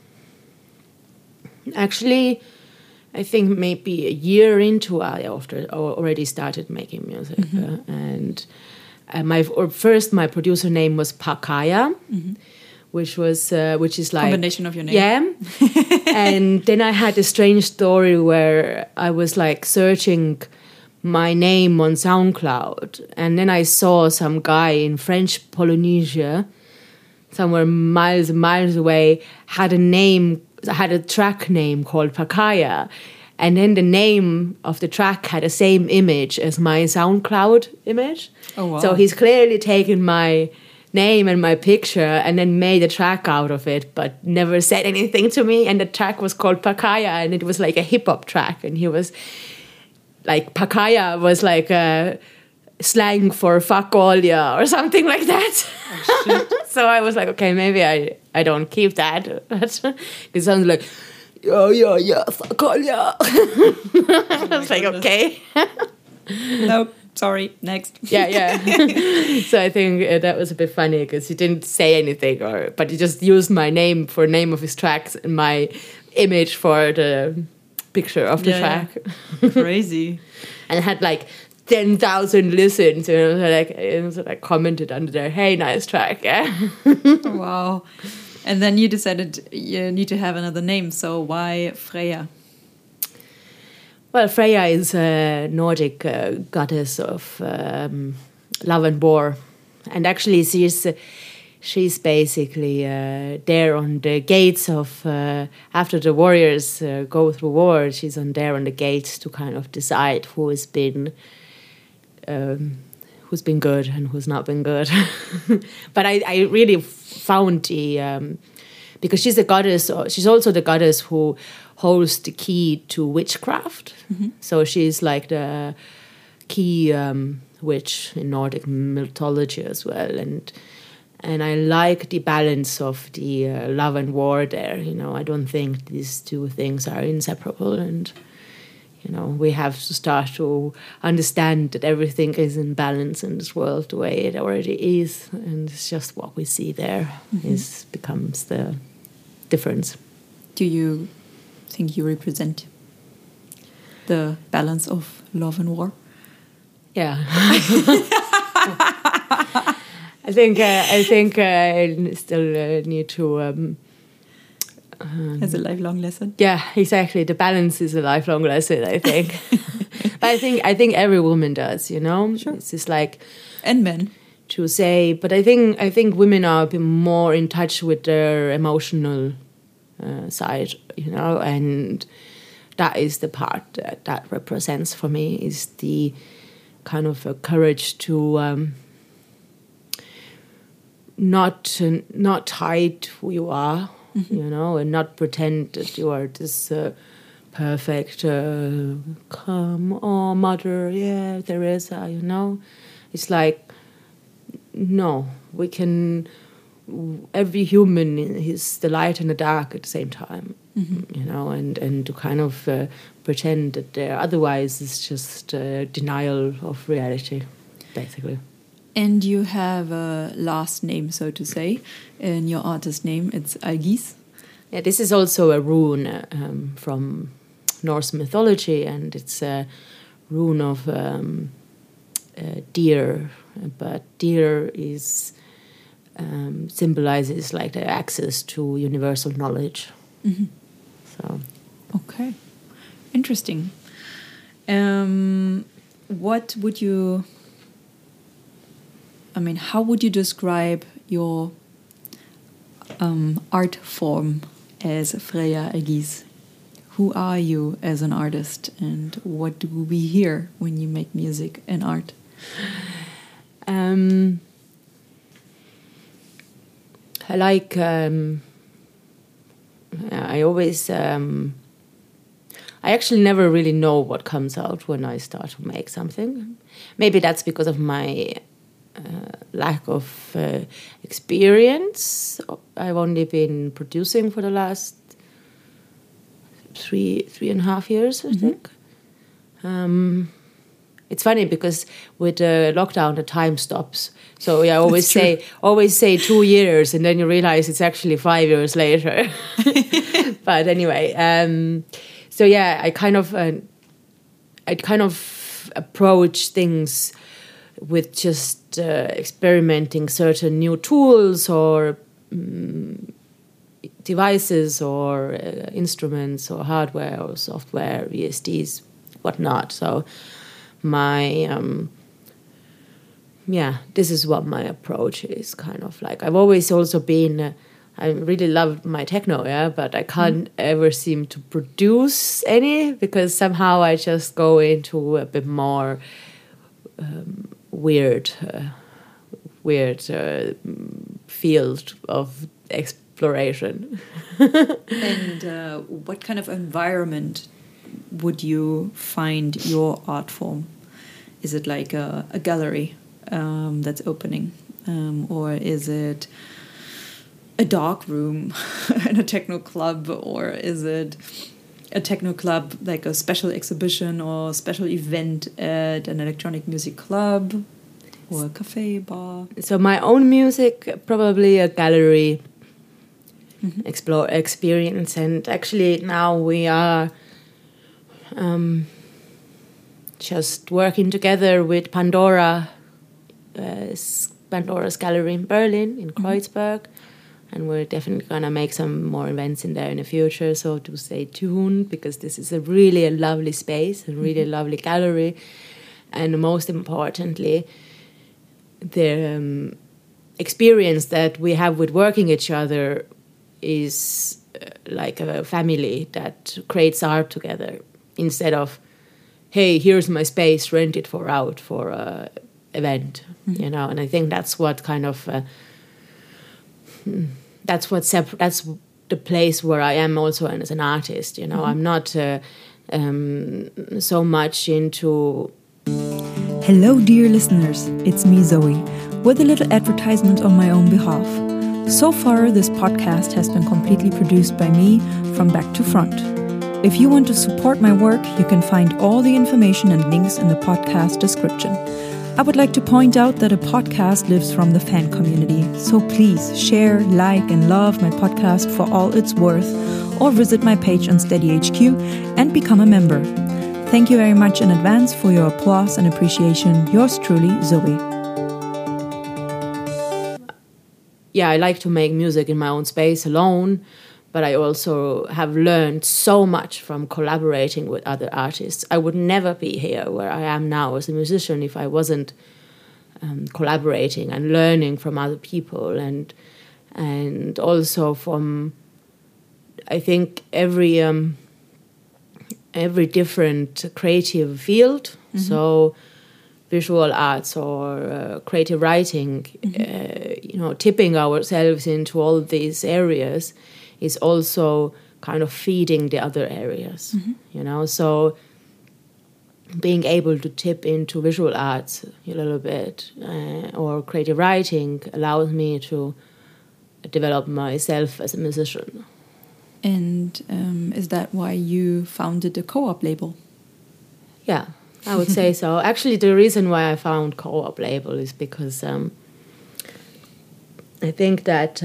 actually, I think maybe a year into I already started making music. And my producer name was Pakaya, which is like... Combination of your name. Yeah. And then I had a strange story where I was like searching my name on SoundCloud, and then I saw some guy in French Polynesia, somewhere miles and miles away, had a track name called Pakaya, and then the name of the track had the same image as my SoundCloud image. Oh, wow. So he's clearly taken my name and my picture and then made a track out of it, but never said anything to me. And the track was called Pakaya, and it was like a hip-hop track, and he was... like Pakaya was like a slang for fuck all ya or something like that. Oh, shit. So I was like, okay, maybe I don't keep that. It sounds like, yeah, fuck all ya. I was like, okay. No, sorry, next. Yeah. So I think that was a bit funny, because he didn't say anything, but he just used my name for name of his tracks and my image for the picture of the track. Crazy. And it had like 10,000 listens, and it was like commented under there, hey, nice track. Yeah. Wow. And then you decided you need to have another name. So why Freya? Well, Freya is a Nordic goddess of love and war, and actually she's basically there on the gates of after the warriors go through war. She's there on the gates to kind of decide who's been good and who's not been good. But I really found because she's a goddess. She's also the goddess who holds the key to witchcraft. Mm-hmm. So she's like the key witch in Nordic mythology as well. And I like the balance of the love and war there. I don't think these two things are inseparable. And, we have to start to understand that everything is in balance in this world the way it already is. And it's just what we see there becomes the difference. Do you think you represent the balance of love and war? Yeah. I think I still need to. As a lifelong lesson. Yeah, exactly. The balance is a lifelong lesson, I think. But I think every woman does. Sure. It's just like, and men to say. But I think women are a bit more in touch with their emotional side, and that is the part that represents for me is the kind of courage to not hide who you are, and not pretend that you are this perfect calm mother. Yeah, Teresa. It's like no, we can. Every human is the light and the dark at the same time, and to kind of pretend that they're otherwise is just denial of reality, basically. And you have a last name, so to say, in your artist name. It's Algis. Yeah, this is also a rune from Norse mythology, and it's a rune of deer, but deer is symbolizes like the access to universal knowledge. Mm-hmm. So, okay, interesting. What would you? How would you describe your art form as Freya Algis? Who are you as an artist, and what do we hear when you make music and art? I like. I always. I actually never really know what comes out when I start to make something. Maybe that's because of my lack of experience. I've only been producing for the last 3.5 years, I think. It's funny because with lockdown, the time stops. So I always say 2 years, and then you realize it's actually 5 years later. But anyway, so yeah, I kind of approach things with just experimenting certain new tools or devices or instruments or hardware or software, VSTs, whatnot. So my this is what my approach is kind of like. I've always also been I really love my techno, but I can't ever seem to produce any because somehow I just go into a bit more weird field of exploration. And what kind of environment would you find your art form? Is it like a gallery that's opening, or is it a dark room in a techno club, or is it a techno club like a special exhibition or special event at an electronic music club or a cafe, bar? So my own music, probably a gallery experience. And actually now we are just working together with Pandora's gallery in Berlin, in Kreuzberg. And we're definitely going to make some more events in there in the future. So do stay tuned, because this is a lovely space, a really lovely gallery. And most importantly, the experience that we have with working each other is like a family that creates art together, instead of, hey, here's my space, rent it out for an event, you know. And I think that's what kind of... that's the place where I am also as an artist, you know. I'm not so much into... Hello, dear listeners. It's me, Zoe, with a little advertisement on my own behalf. So far, this podcast has been completely produced by me from back to front. If you want to support my work, you can find all the information and links in the podcast description. I would like to point out that a podcast lives from the fan community, so please share, like, and love my podcast for all it's worth, or visit my page on SteadyHQ and become a member. Thank you very much in advance for your applause and appreciation. Yours truly, Zoe. Yeah, I like to make music in my own space alone, but I also have learned so much from collaborating with other artists. I would never be here where I am now as a musician if I wasn't collaborating and learning from other people, and also from, I think, every different creative field. So visual arts or creative writing, you know, tipping ourselves into all these areas is also kind of feeding the other areas, you know. So being able to tip into visual arts a little bit or creative writing allows me to develop myself as a musician. And is that why you founded the Co-op label? Yeah, I would say so. Actually, the reason why I found Co-op label is because I think that...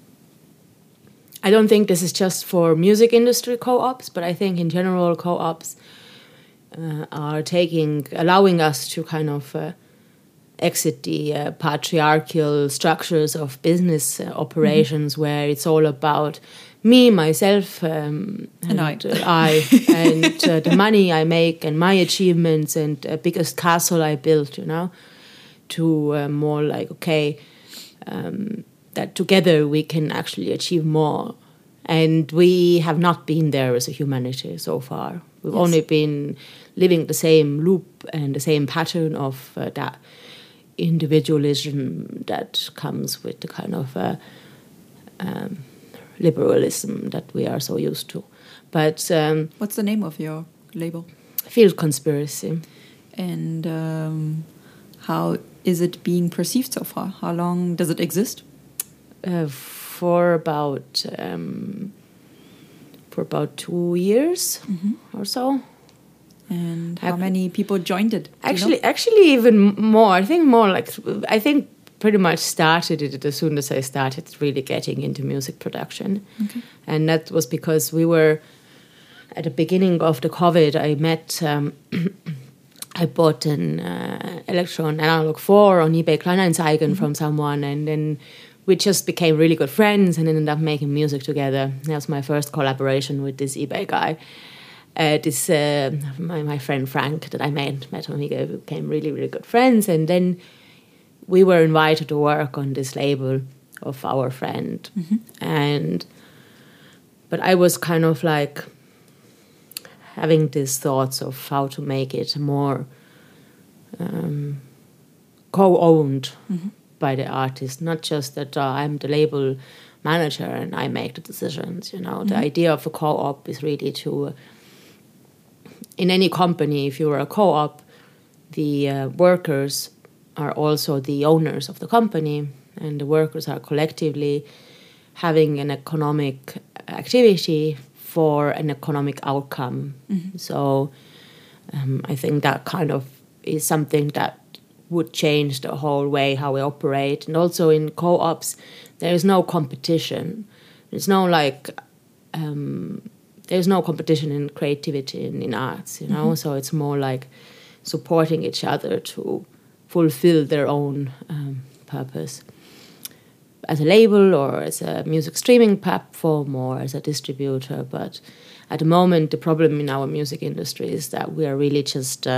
I don't think this is just for music industry co-ops, but I think in general co-ops are allowing us to kind of exit the patriarchal structures of business operations, where it's all about me, myself, and I, and the money I make and my achievements and the biggest castle I built, you know, to more like, okay, that together we can actually achieve more. And we have not been there as a humanity so far. We've only been living the same loop and the same pattern of that individualism that comes with the kind of liberalism that we are so used to. But what's the name of your label? Field Conspiracy. And how is it being perceived so far? How long does it exist? For about 2 years or so. And how many people joined it? Actually, even more. I think pretty much started it as soon as I started really getting into music production. Okay. And that was because we were at the beginning of the COVID. I met. I bought an Electron Analog 4 on eBay Kleinanzeigen from someone, and then we just became really good friends and ended up making music together. That was my first collaboration with this eBay guy. My friend Frank that I met him, we became really, really good friends. And then we were invited to work on this label of our friend. But I was kind of like having these thoughts of how to make it more co-owned by the artist, not just that I'm the label manager and I make the decisions, you know. The idea of a co-op is really to, in any company, if you're a co-op, the workers are also the owners of the company, and the workers are collectively having an economic activity for an economic outcome. So I think that kind of is something that would change the whole way how we operate. And also in co-ops, there is no competition. There's no there's no competition in creativity and in arts, you know. So it's more like supporting each other to fulfill their own purpose. as a label or as a music streaming platform or as a distributor. But at the moment, the problem in our music industry is that we are really just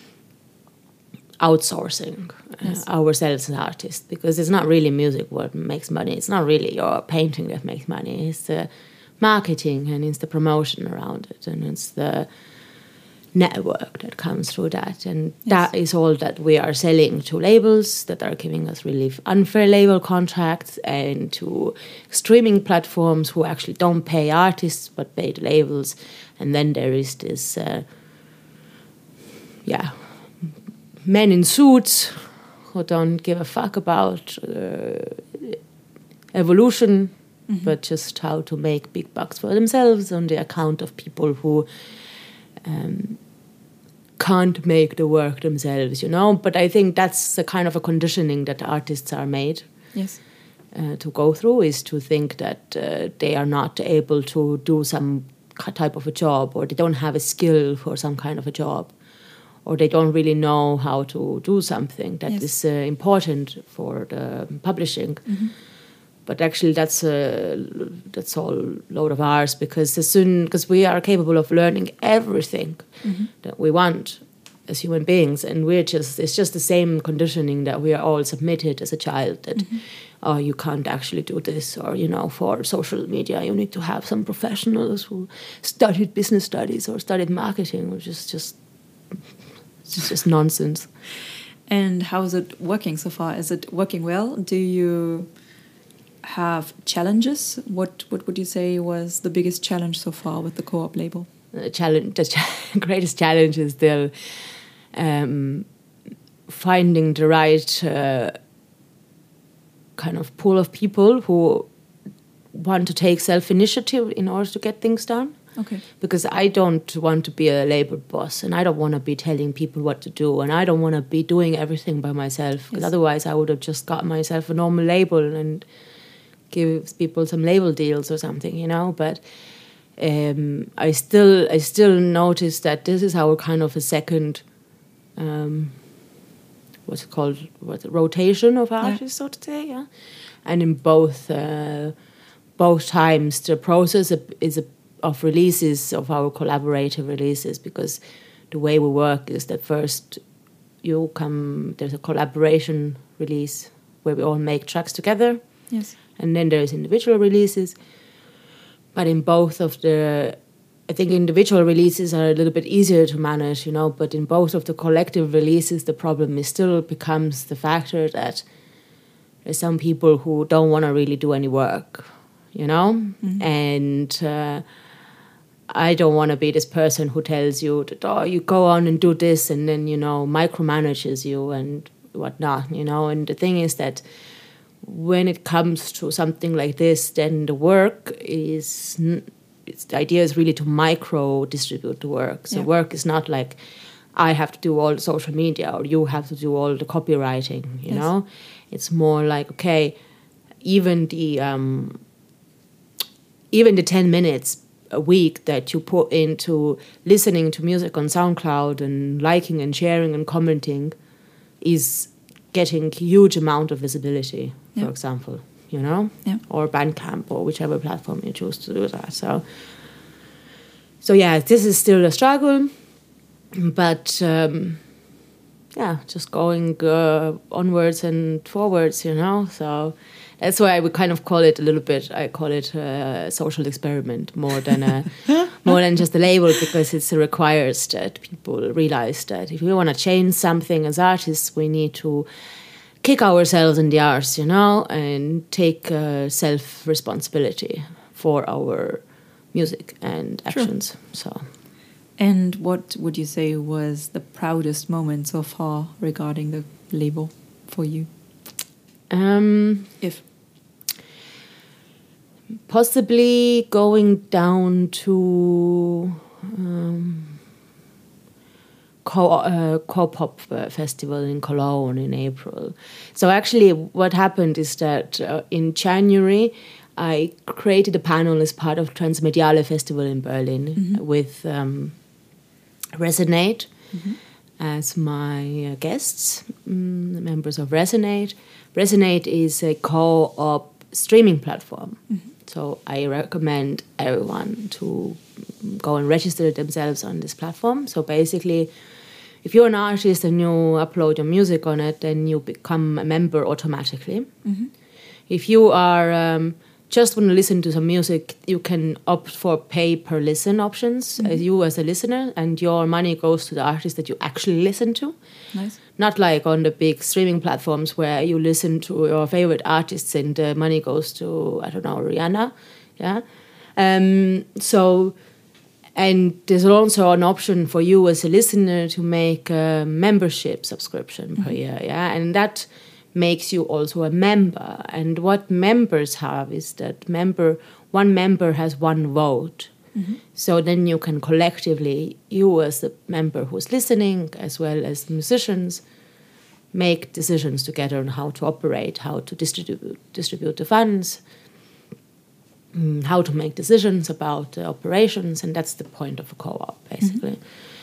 outsourcing ourselves as artists, because it's not really music what makes money. It's not really your painting that makes money. It's the marketing and it's the promotion around it and it's the network that comes through that. And that is all that we are selling to labels that are giving us really unfair label contracts, and to streaming platforms who actually don't pay artists but pay the labels. And then there is this men in suits who don't give a fuck about evolution, but just how to make big bucks for themselves on the account of people who can't make the work themselves, you know. But I think that's a kind of a conditioning that artists are made to go through, is to think that they are not able to do some type of a job, or they don't have a skill for some kind of a job, or they don't really know how to do something that is important for the publishing. But actually, that's all load of ours, because we are capable of learning everything that we want as human beings, and it's just the same conditioning that we are all submitted as a child, that you can't actually do this, or for social media you need to have some professionals who studied business studies or studied marketing, which is just nonsense. And how is it working so far? Is it working well? Do you have challenges? What would you say was the biggest challenge so far with the Co-op label? The greatest challenge is still finding the right kind of pool of people who want to take self-initiative in order to get things done. Okay. Because I don't want to be a label boss, and I don't want to be telling people what to do, and I don't want to be doing everything by myself, because otherwise I would have just got myself a normal label and give people some label deals or something, But I still notice that this is our kind of a second, rotation of artists, so to say, And in both times, the process of releases, of our collaborative releases, because the way we work is that first there's a collaboration release where we all make tracks together. Yes. And then there's individual releases. But in both of I think individual releases are a little bit easier to manage, but in both of the collective releases, the problem still becomes the factor that there's some people who don't want to really do any work, And I don't want to be this person who tells you that, you go on and do this, and then, micromanages you and whatnot, And the thing is that when it comes to something like this, then the work the idea is really to micro-distribute the work. So work is not like I have to do all the social media or you have to do all the copywriting, you know? It's more like, okay, even the 10 minutes a week that you put into listening to music on SoundCloud and liking and sharing and commenting is getting a huge amount of visibility, for example, or Bandcamp or whichever platform you choose to do that. So this is still a struggle, but just going onwards and forwards, So that's why we kind of call it a little bit. I call it a social experiment more than just a label, because it requires that people realize that if we want to change something as artists, we need to kick ourselves in the arse, and take self-responsibility for our music and actions. True. So. And what would you say was the proudest moment so far regarding the label for you? If possibly going down to Co-Pop Festival in Cologne in April. So actually what happened is that in January I created a panel as part of Transmediale Festival in Berlin with Resonate as my guests, members of Resonate. Resonate is a co-op streaming platform. So I recommend everyone to go and register themselves on this platform. So basically, if you're an artist and you upload your music on it, then you become a member automatically. If you are just want to listen to some music, you can opt for pay per listen options as you as a listener, and your money goes to the artist that you actually listen to. Nice. Not like on the big streaming platforms where you listen to your favorite artists and the money goes to, I don't know, Rihanna. Yeah. So, and there's also an option for you as a listener to make a membership subscription per year. Yeah. And that makes you also a member. And what members have is that one member has one vote. So then you can collectively, you as the member who's listening, as well as musicians, make decisions together on how to operate, how to distribute the funds, how to make decisions about the operations, and that's the point of a co-op, basically.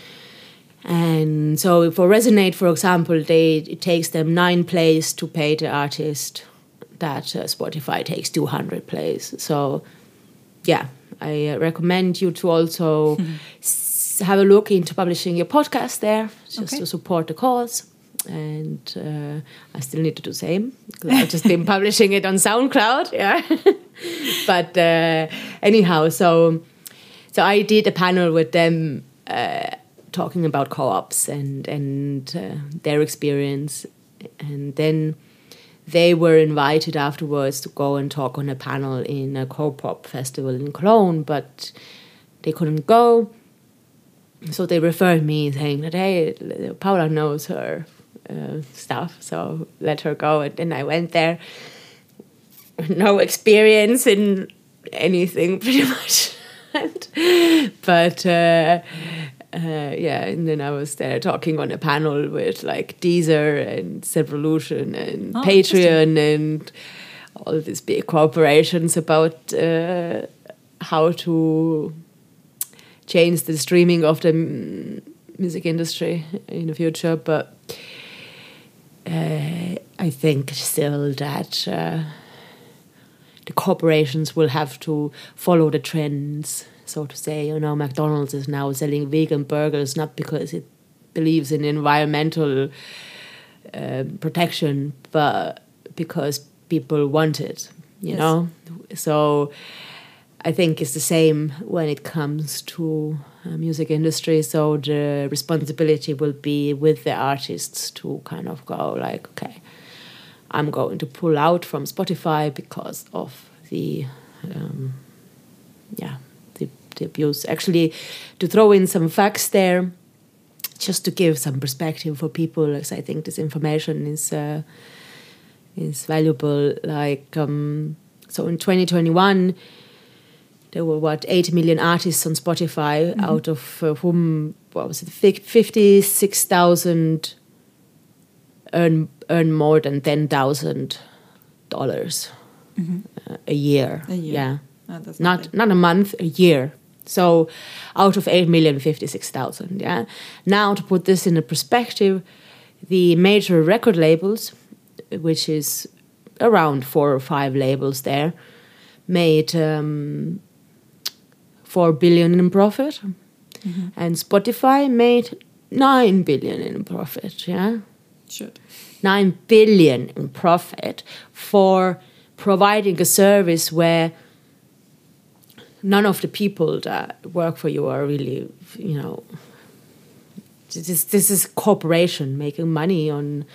And so for Resonate, for example, it takes them 9 plays to pay the artist that Spotify takes 200 plays. So, yeah, I recommend you to also have a look into publishing your podcast there, just to support the cause. And I still need to do the same. I've just been publishing it on SoundCloud, yeah. But anyhow, so I did a panel with them talking about co-ops and their experience. And then they were invited afterwards to go and talk on a panel in a co-pop festival in Cologne, but they couldn't go. So they referred me saying that, hey, Paula knows her stuff, so let her go. And then I went there. No experience in anything, pretty much. But and then I was there talking on a panel with like Deezer and Zevolution and Patreon and all these big corporations about how to change the streaming of the music industry in the future. But I think still that the corporations will have to follow the trends, so to say. You know, McDonald's is now selling vegan burgers not because it believes in environmental protection, but because people want it, you know. So I think it's the same when it comes to music industry. So the responsibility will be with the artists to kind of go like, okay, I'm going to pull out from Spotify because of the abuse. Actually, to throw in some facts there, just to give some perspective for people, because I think this information is valuable. Like, so in 2021, there were 8 million artists on Spotify, out of whom 56,000 earn more than $10,000 a year. Yeah, that's not a month, a year. So out of 8 million, 56,000. Yeah. Now to put this in a perspective, the major record labels, which is around 4 or 5 labels there, made 4 billion in profit, and Spotify made 9 billion in profit. Yeah. Sure. 9 billion in profit for providing a service where none of the people that work for you are really, you know, this is corporation making money on,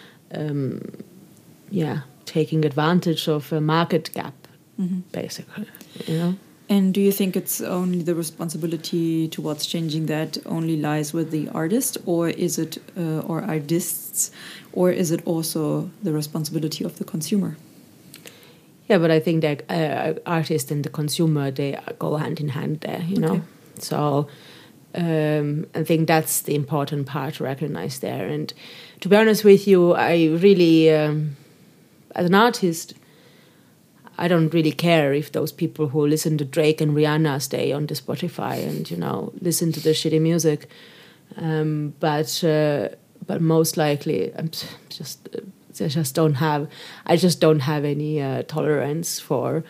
taking advantage of a market gap, basically, you know. And do you think it's only the responsibility towards changing that only lies with the artist, or is it, or artists, or is it also the responsibility of the consumer? Yeah, but I think that artist and the consumer, they go hand in hand there, you know. So I think that's the important part to recognize there. And to be honest with you, I really, as an artist, I don't really care if those people who listen to Drake and Rihanna stay on the Spotify and, you know, listen to their shitty music. But most likely, I'm just I just don't have any tolerance for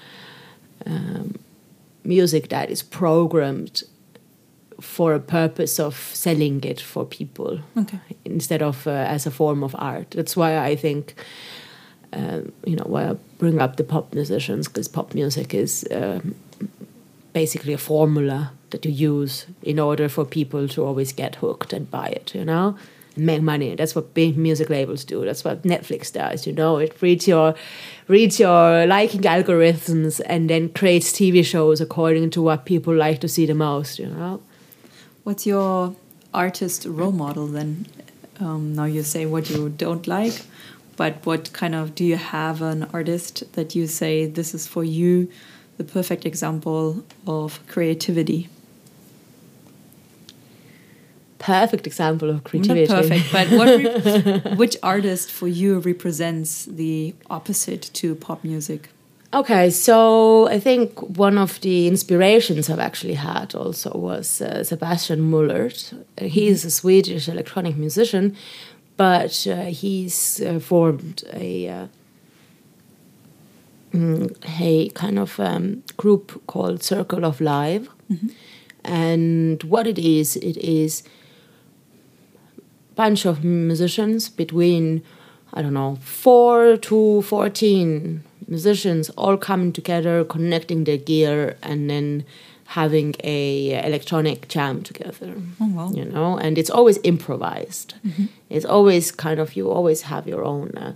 music that is programmed for a purpose of selling it for people, instead of as a form of art. That's why I think, why I bring up the pop musicians, because pop music is basically a formula that you use in order for people to always get hooked and buy it, and make money. That's what big music labels do. That's what Netflix does. It reads your liking algorithms and then creates TV shows according to what people like to see the most. What's your artist role model then? Now you say what you don't like, but what kind of, do you have an artist that you say this is for you the perfect example of creativity? Perfect example of creativity. Not perfect, but which artist for you represents the opposite to pop music? Okay, so I think one of the inspirations I've actually had also was Sebastian Mullert. He's a Swedish electronic musician, but he's formed a kind of group called Circle of Live. And what it is a bunch of musicians between, 4 to 14 musicians all coming together, connecting their gear, and then having a electronic jam together. Oh, wow. And it's always improvised. It's always kind of, you always have your own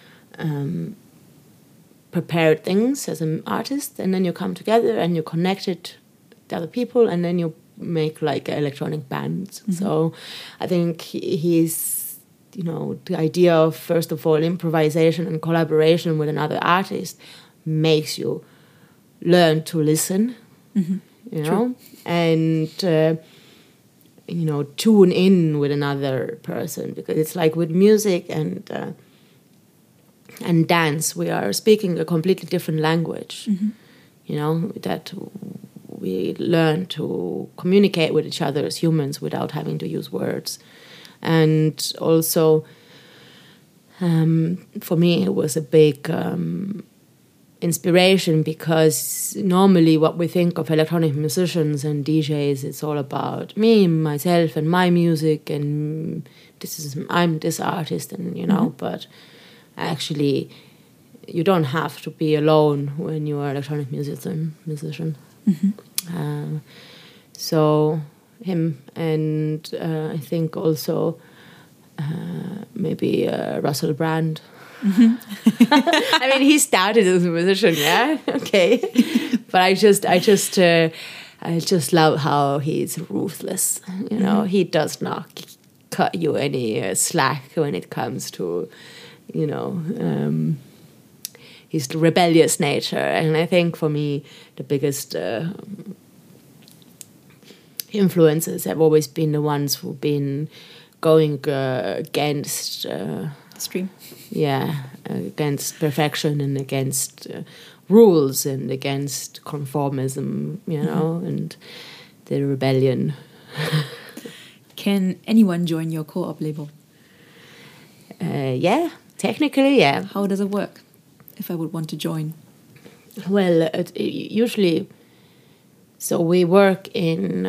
prepared things as an artist, and then you come together and you connect it to other people, and then you make like electronic bands. So I think he's, the idea of, first of all, improvisation and collaboration with another artist makes you learn to listen, and, tune in with another person, because it's like with music and dance, we are speaking a completely different language, that we learn to communicate with each other as humans without having to use words. And also, for me, it was a big inspiration, because normally what we think of electronic musicians and DJs, it's all about me, myself, and my music, and I'm this artist, and but actually, you don't have to be alone when you are an electronic musician. So him, and I think also maybe Russell Brand. I mean, he started as a musician, yeah, okay, but I just love how he's ruthless. He does not cut you any slack when it comes to, his rebellious nature. And I think for me, the biggest influences have always been the ones who've been going against stream. Yeah, against perfection and against rules and against conformism, and the rebellion. Can anyone join your co-op label? Yeah, technically, yeah. How does it work if I would want to join? Well, usually, so we work in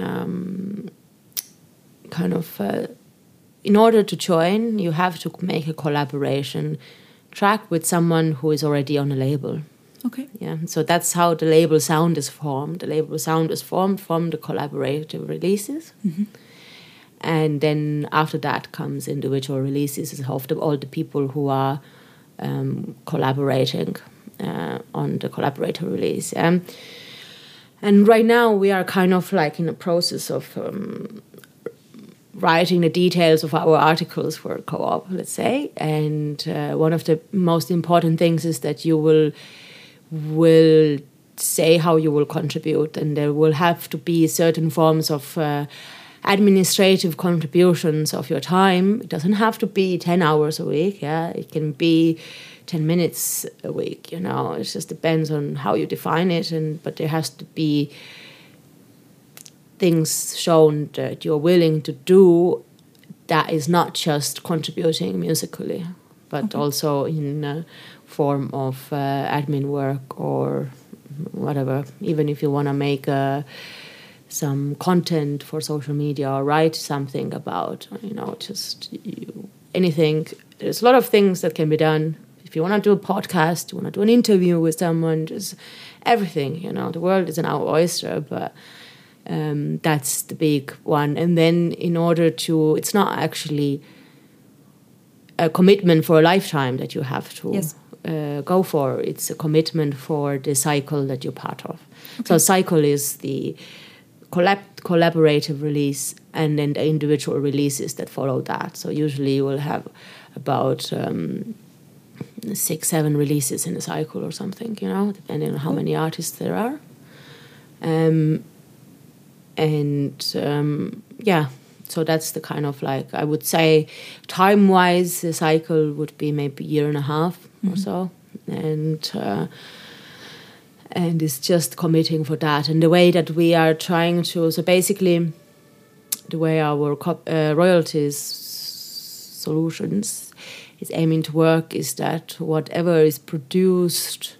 in order to join, you have to make a collaboration track with someone who is already on a label. Okay. Yeah, so that's how the label sound is formed. The label sound is formed from the collaborative releases. And then after that comes individual releases of all the people who are collaborating on the collaborator release. And right now we are kind of like in a process of writing the details of our articles for co-op, let's say. And one of the most important things is that you will say how you will contribute, and there will have to be certain forms of administrative contributions of your time. It doesn't have to be 10 hours a week, yeah. It can be 10 minutes a week, It just depends on how you define it, but there has to be things shown that you're willing to do that is not just contributing musically, but also in form of admin work or whatever. Even if you want to make some content for social media or write something about, anything. There's a lot of things that can be done. If you want to do a podcast, you want to do an interview with someone, just everything, the world is an our oyster, but that's the big one. And then in order to, it's not actually a commitment for a lifetime that you have to go for. It's a commitment for the cycle that you're part of. Okay. So cycle is the collaborative release and then the individual releases that follow that. So usually you will have about 6-7 releases in a cycle or something, depending on how many artists there are. So that's the kind of I would say time-wise, the cycle would be maybe a year and a half or so. And it's just committing for that. And the way that we are trying to, so basically the way our royalties solutions is aiming to work is that whatever is produced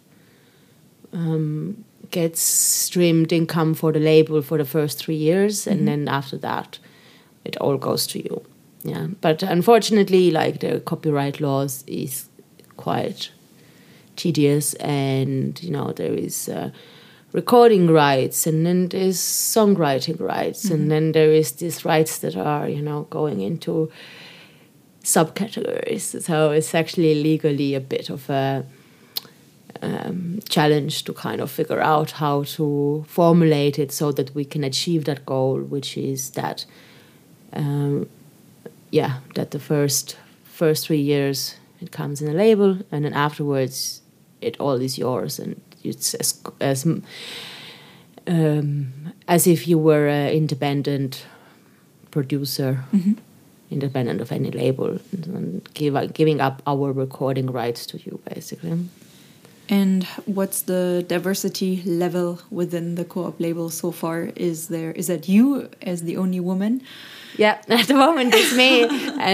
gets streamed income for the label for the first 3 years, and then after that it all goes to you. Yeah, but unfortunately, the copyright laws is quite tedious, and there is recording rights, and then there's songwriting rights, and then there is these rights that are going into subcategories. So it's actually legally a bit of a challenge to kind of figure out how to formulate it so that we can achieve that goal, which is that that the first 3 years it comes in a label, and then afterwards it all is yours, and it's as if you were an independent producer, independent of any label, and giving up our recording rights to you, basically. And what's the diversity level within the Co-op label so far? Is that you as the only woman? Yeah, at the moment it's me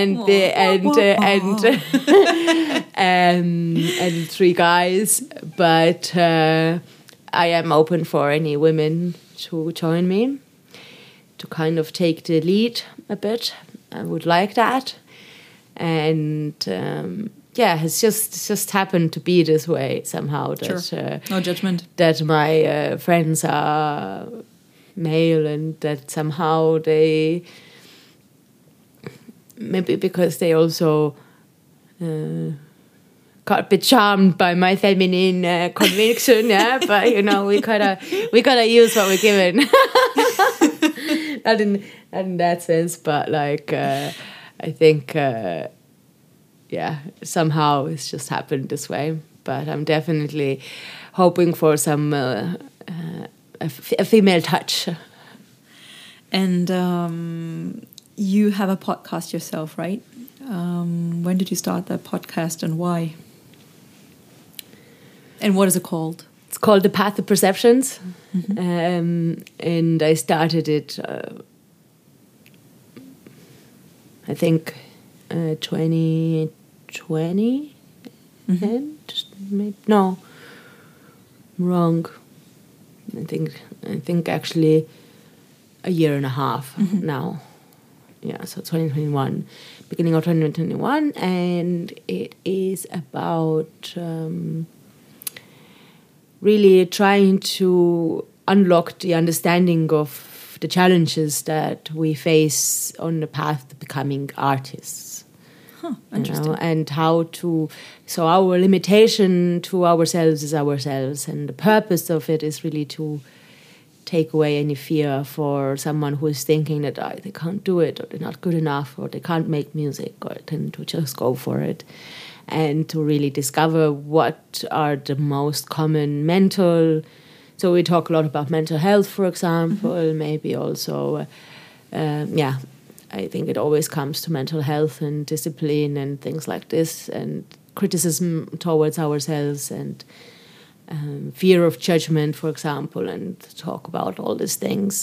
and 3 guys, but I am open for any women to join me, to kind of take the lead a bit. I would like that, and it's just happened to be this way somehow. That, sure. No judgment. That my friends are male, and that somehow they, maybe because they also got a bit charmed by my feminine conviction. Yeah, but we gotta use what we're given. Not in that sense, but I think. Somehow it's just happened this way. But I'm definitely hoping for some a female touch. And you have a podcast yourself, right? When did you start that podcast, and why? And what is it called? It's called The Path of Perceptions. And I started it, I think, 2020, no, I'm wrong. I think actually a year and a half now. Yeah, so 2021, beginning of 2021, and it is about really trying to unlock the understanding of the challenges that we face on the path to becoming artists. Interesting. And how to, so our limitation to ourselves is ourselves, and the purpose of it is really to take away any fear for someone who is thinking that they can't do it, or they're not good enough, or they can't make music, or then to just go for it, and to really discover what are the most common mental. So we talk a lot about mental health, for example, maybe also, I think it always comes to mental health and discipline and things like this, and criticism towards ourselves, and fear of judgment, for example, and talk about all these things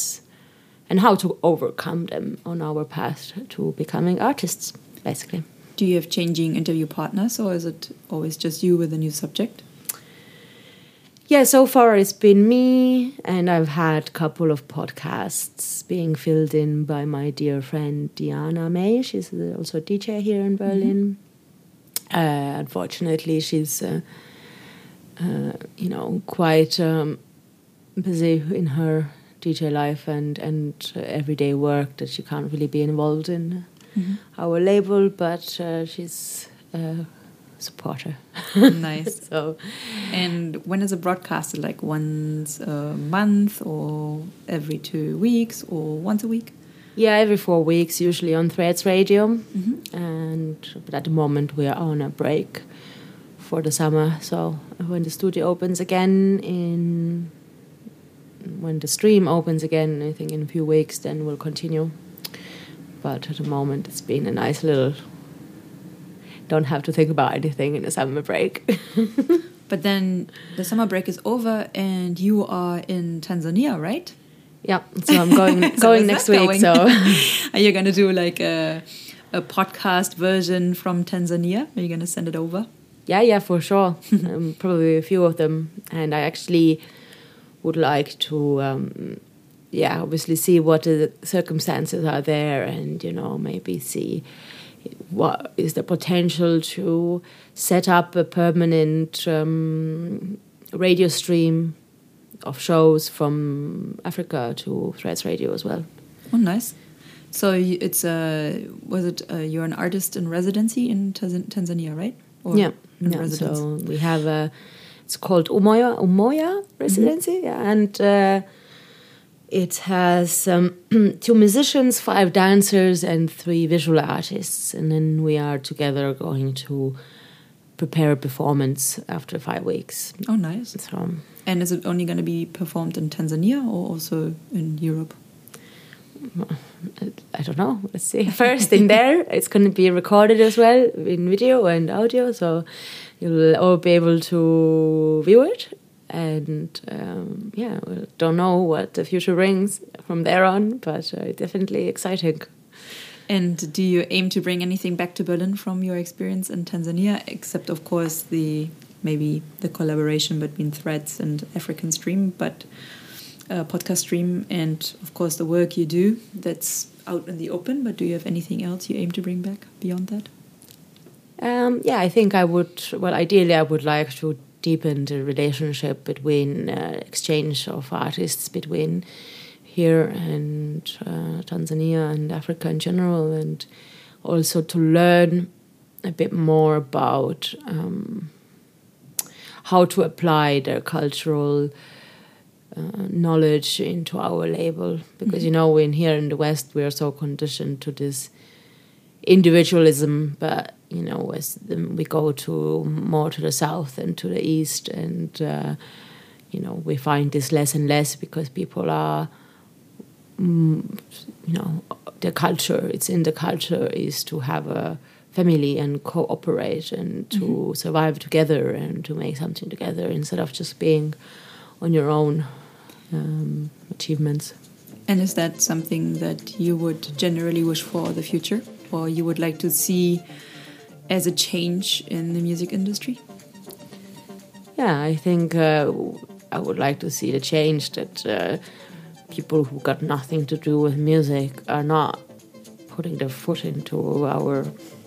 and how to overcome them on our path to becoming artists, basically. Do you have changing interview partners, or is it always just you with a new subject? Yeah, so far it's been me, and I've had a couple of podcasts being filled in by my dear friend Diana May. She's also a DJ here in Berlin. Unfortunately, she's, quite busy in her DJ life and everyday work that she can't really be involved in our label, but she's a supporter. Nice. So, and when is it broadcasted? Like once a month, or every 2 weeks, or once a week? yeah, every 4 weeks, usually on Threads Radio. But at the moment we are on a break for the summer. So when the studio opens again when the stream opens again, I think in a few weeks, then we'll continue. But at the moment, it's been a nice little... Don't have to think about anything in the summer break. But then the summer break is over and you are in Tanzania, right? Yeah, so I'm going next week. Going? So are you going to do like a podcast version from Tanzania? Are you going to send it over? Yeah, for sure. Probably a few of them. And I actually would like to, obviously see what the circumstances are there, and, maybe see what is the potential to set up a permanent radio stream of shows from Africa to Threads Radio as well. Oh, nice. So it's you're an artist in residency in Tanzania, right? Or yeah. residence? So we have it's called Umoya residency, and it has 2 musicians, 5 dancers, and 3 visual artists. And then we are together going to prepare a performance after 5 weeks. Oh, nice. So, and is it only going to be performed in Tanzania or also in Europe? I don't know. Let's see. First in there, it's going to be recorded as well in video and audio. So you'll all be able to view it. And we don't know what the future brings from there on, but definitely exciting. And do you aim to bring anything back to Berlin from your experience in Tanzania, except of course maybe the collaboration between Threads and African Stream, but podcast Stream, and of course the work you do that's out in the open? But do you have anything else you aim to bring back beyond that? I think I would. Well, ideally, I would like to deepen the relationship between exchange of artists between here and Tanzania and Africa in general, and also to learn a bit more about how to apply their cultural knowledge into our label, because in here in the West we are so conditioned to this individualism, but as we go more to the south and to the east, and we find this less and less, because people are the culture, it's in the culture, is to have a family and cooperate and to survive together and to make something together, instead of just being on your own achievements. And is that something that you would generally wish for the future, or you would like to see as a change in the music industry? Yeah, I think I would like to see the change that people who got nothing to do with music are not putting their foot into our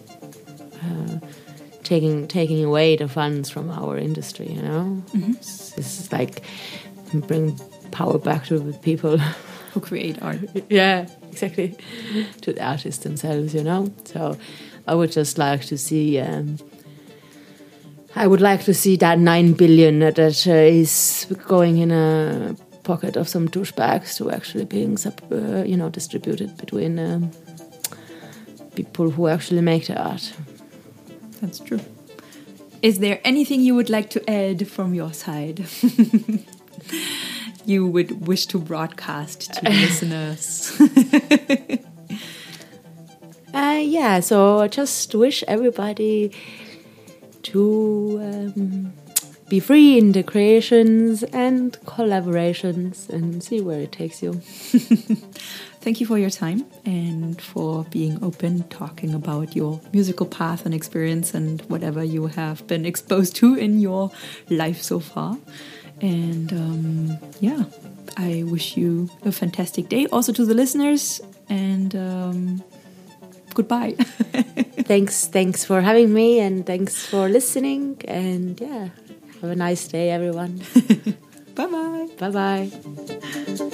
taking away the funds from our industry. This is like bring power back to the people who create art. Yeah, exactly, to the artists themselves. So I would just like to see. I would like to see that 9 billion that is going in a pocket of some douchebags to actually being, distributed between people who actually make the art. That's true. Is there anything you would like to add from your side? You would wish to broadcast to the listeners? So I just wish everybody to be free in the creations and collaborations and see where it takes you. Thank you for your time and for being open, talking about your musical path and experience and whatever you have been exposed to in your life so far. And I wish you a fantastic day. Also to the listeners, and goodbye. Thanks for having me, and thanks for listening. And have a nice day, everyone. Bye-bye. Bye-bye.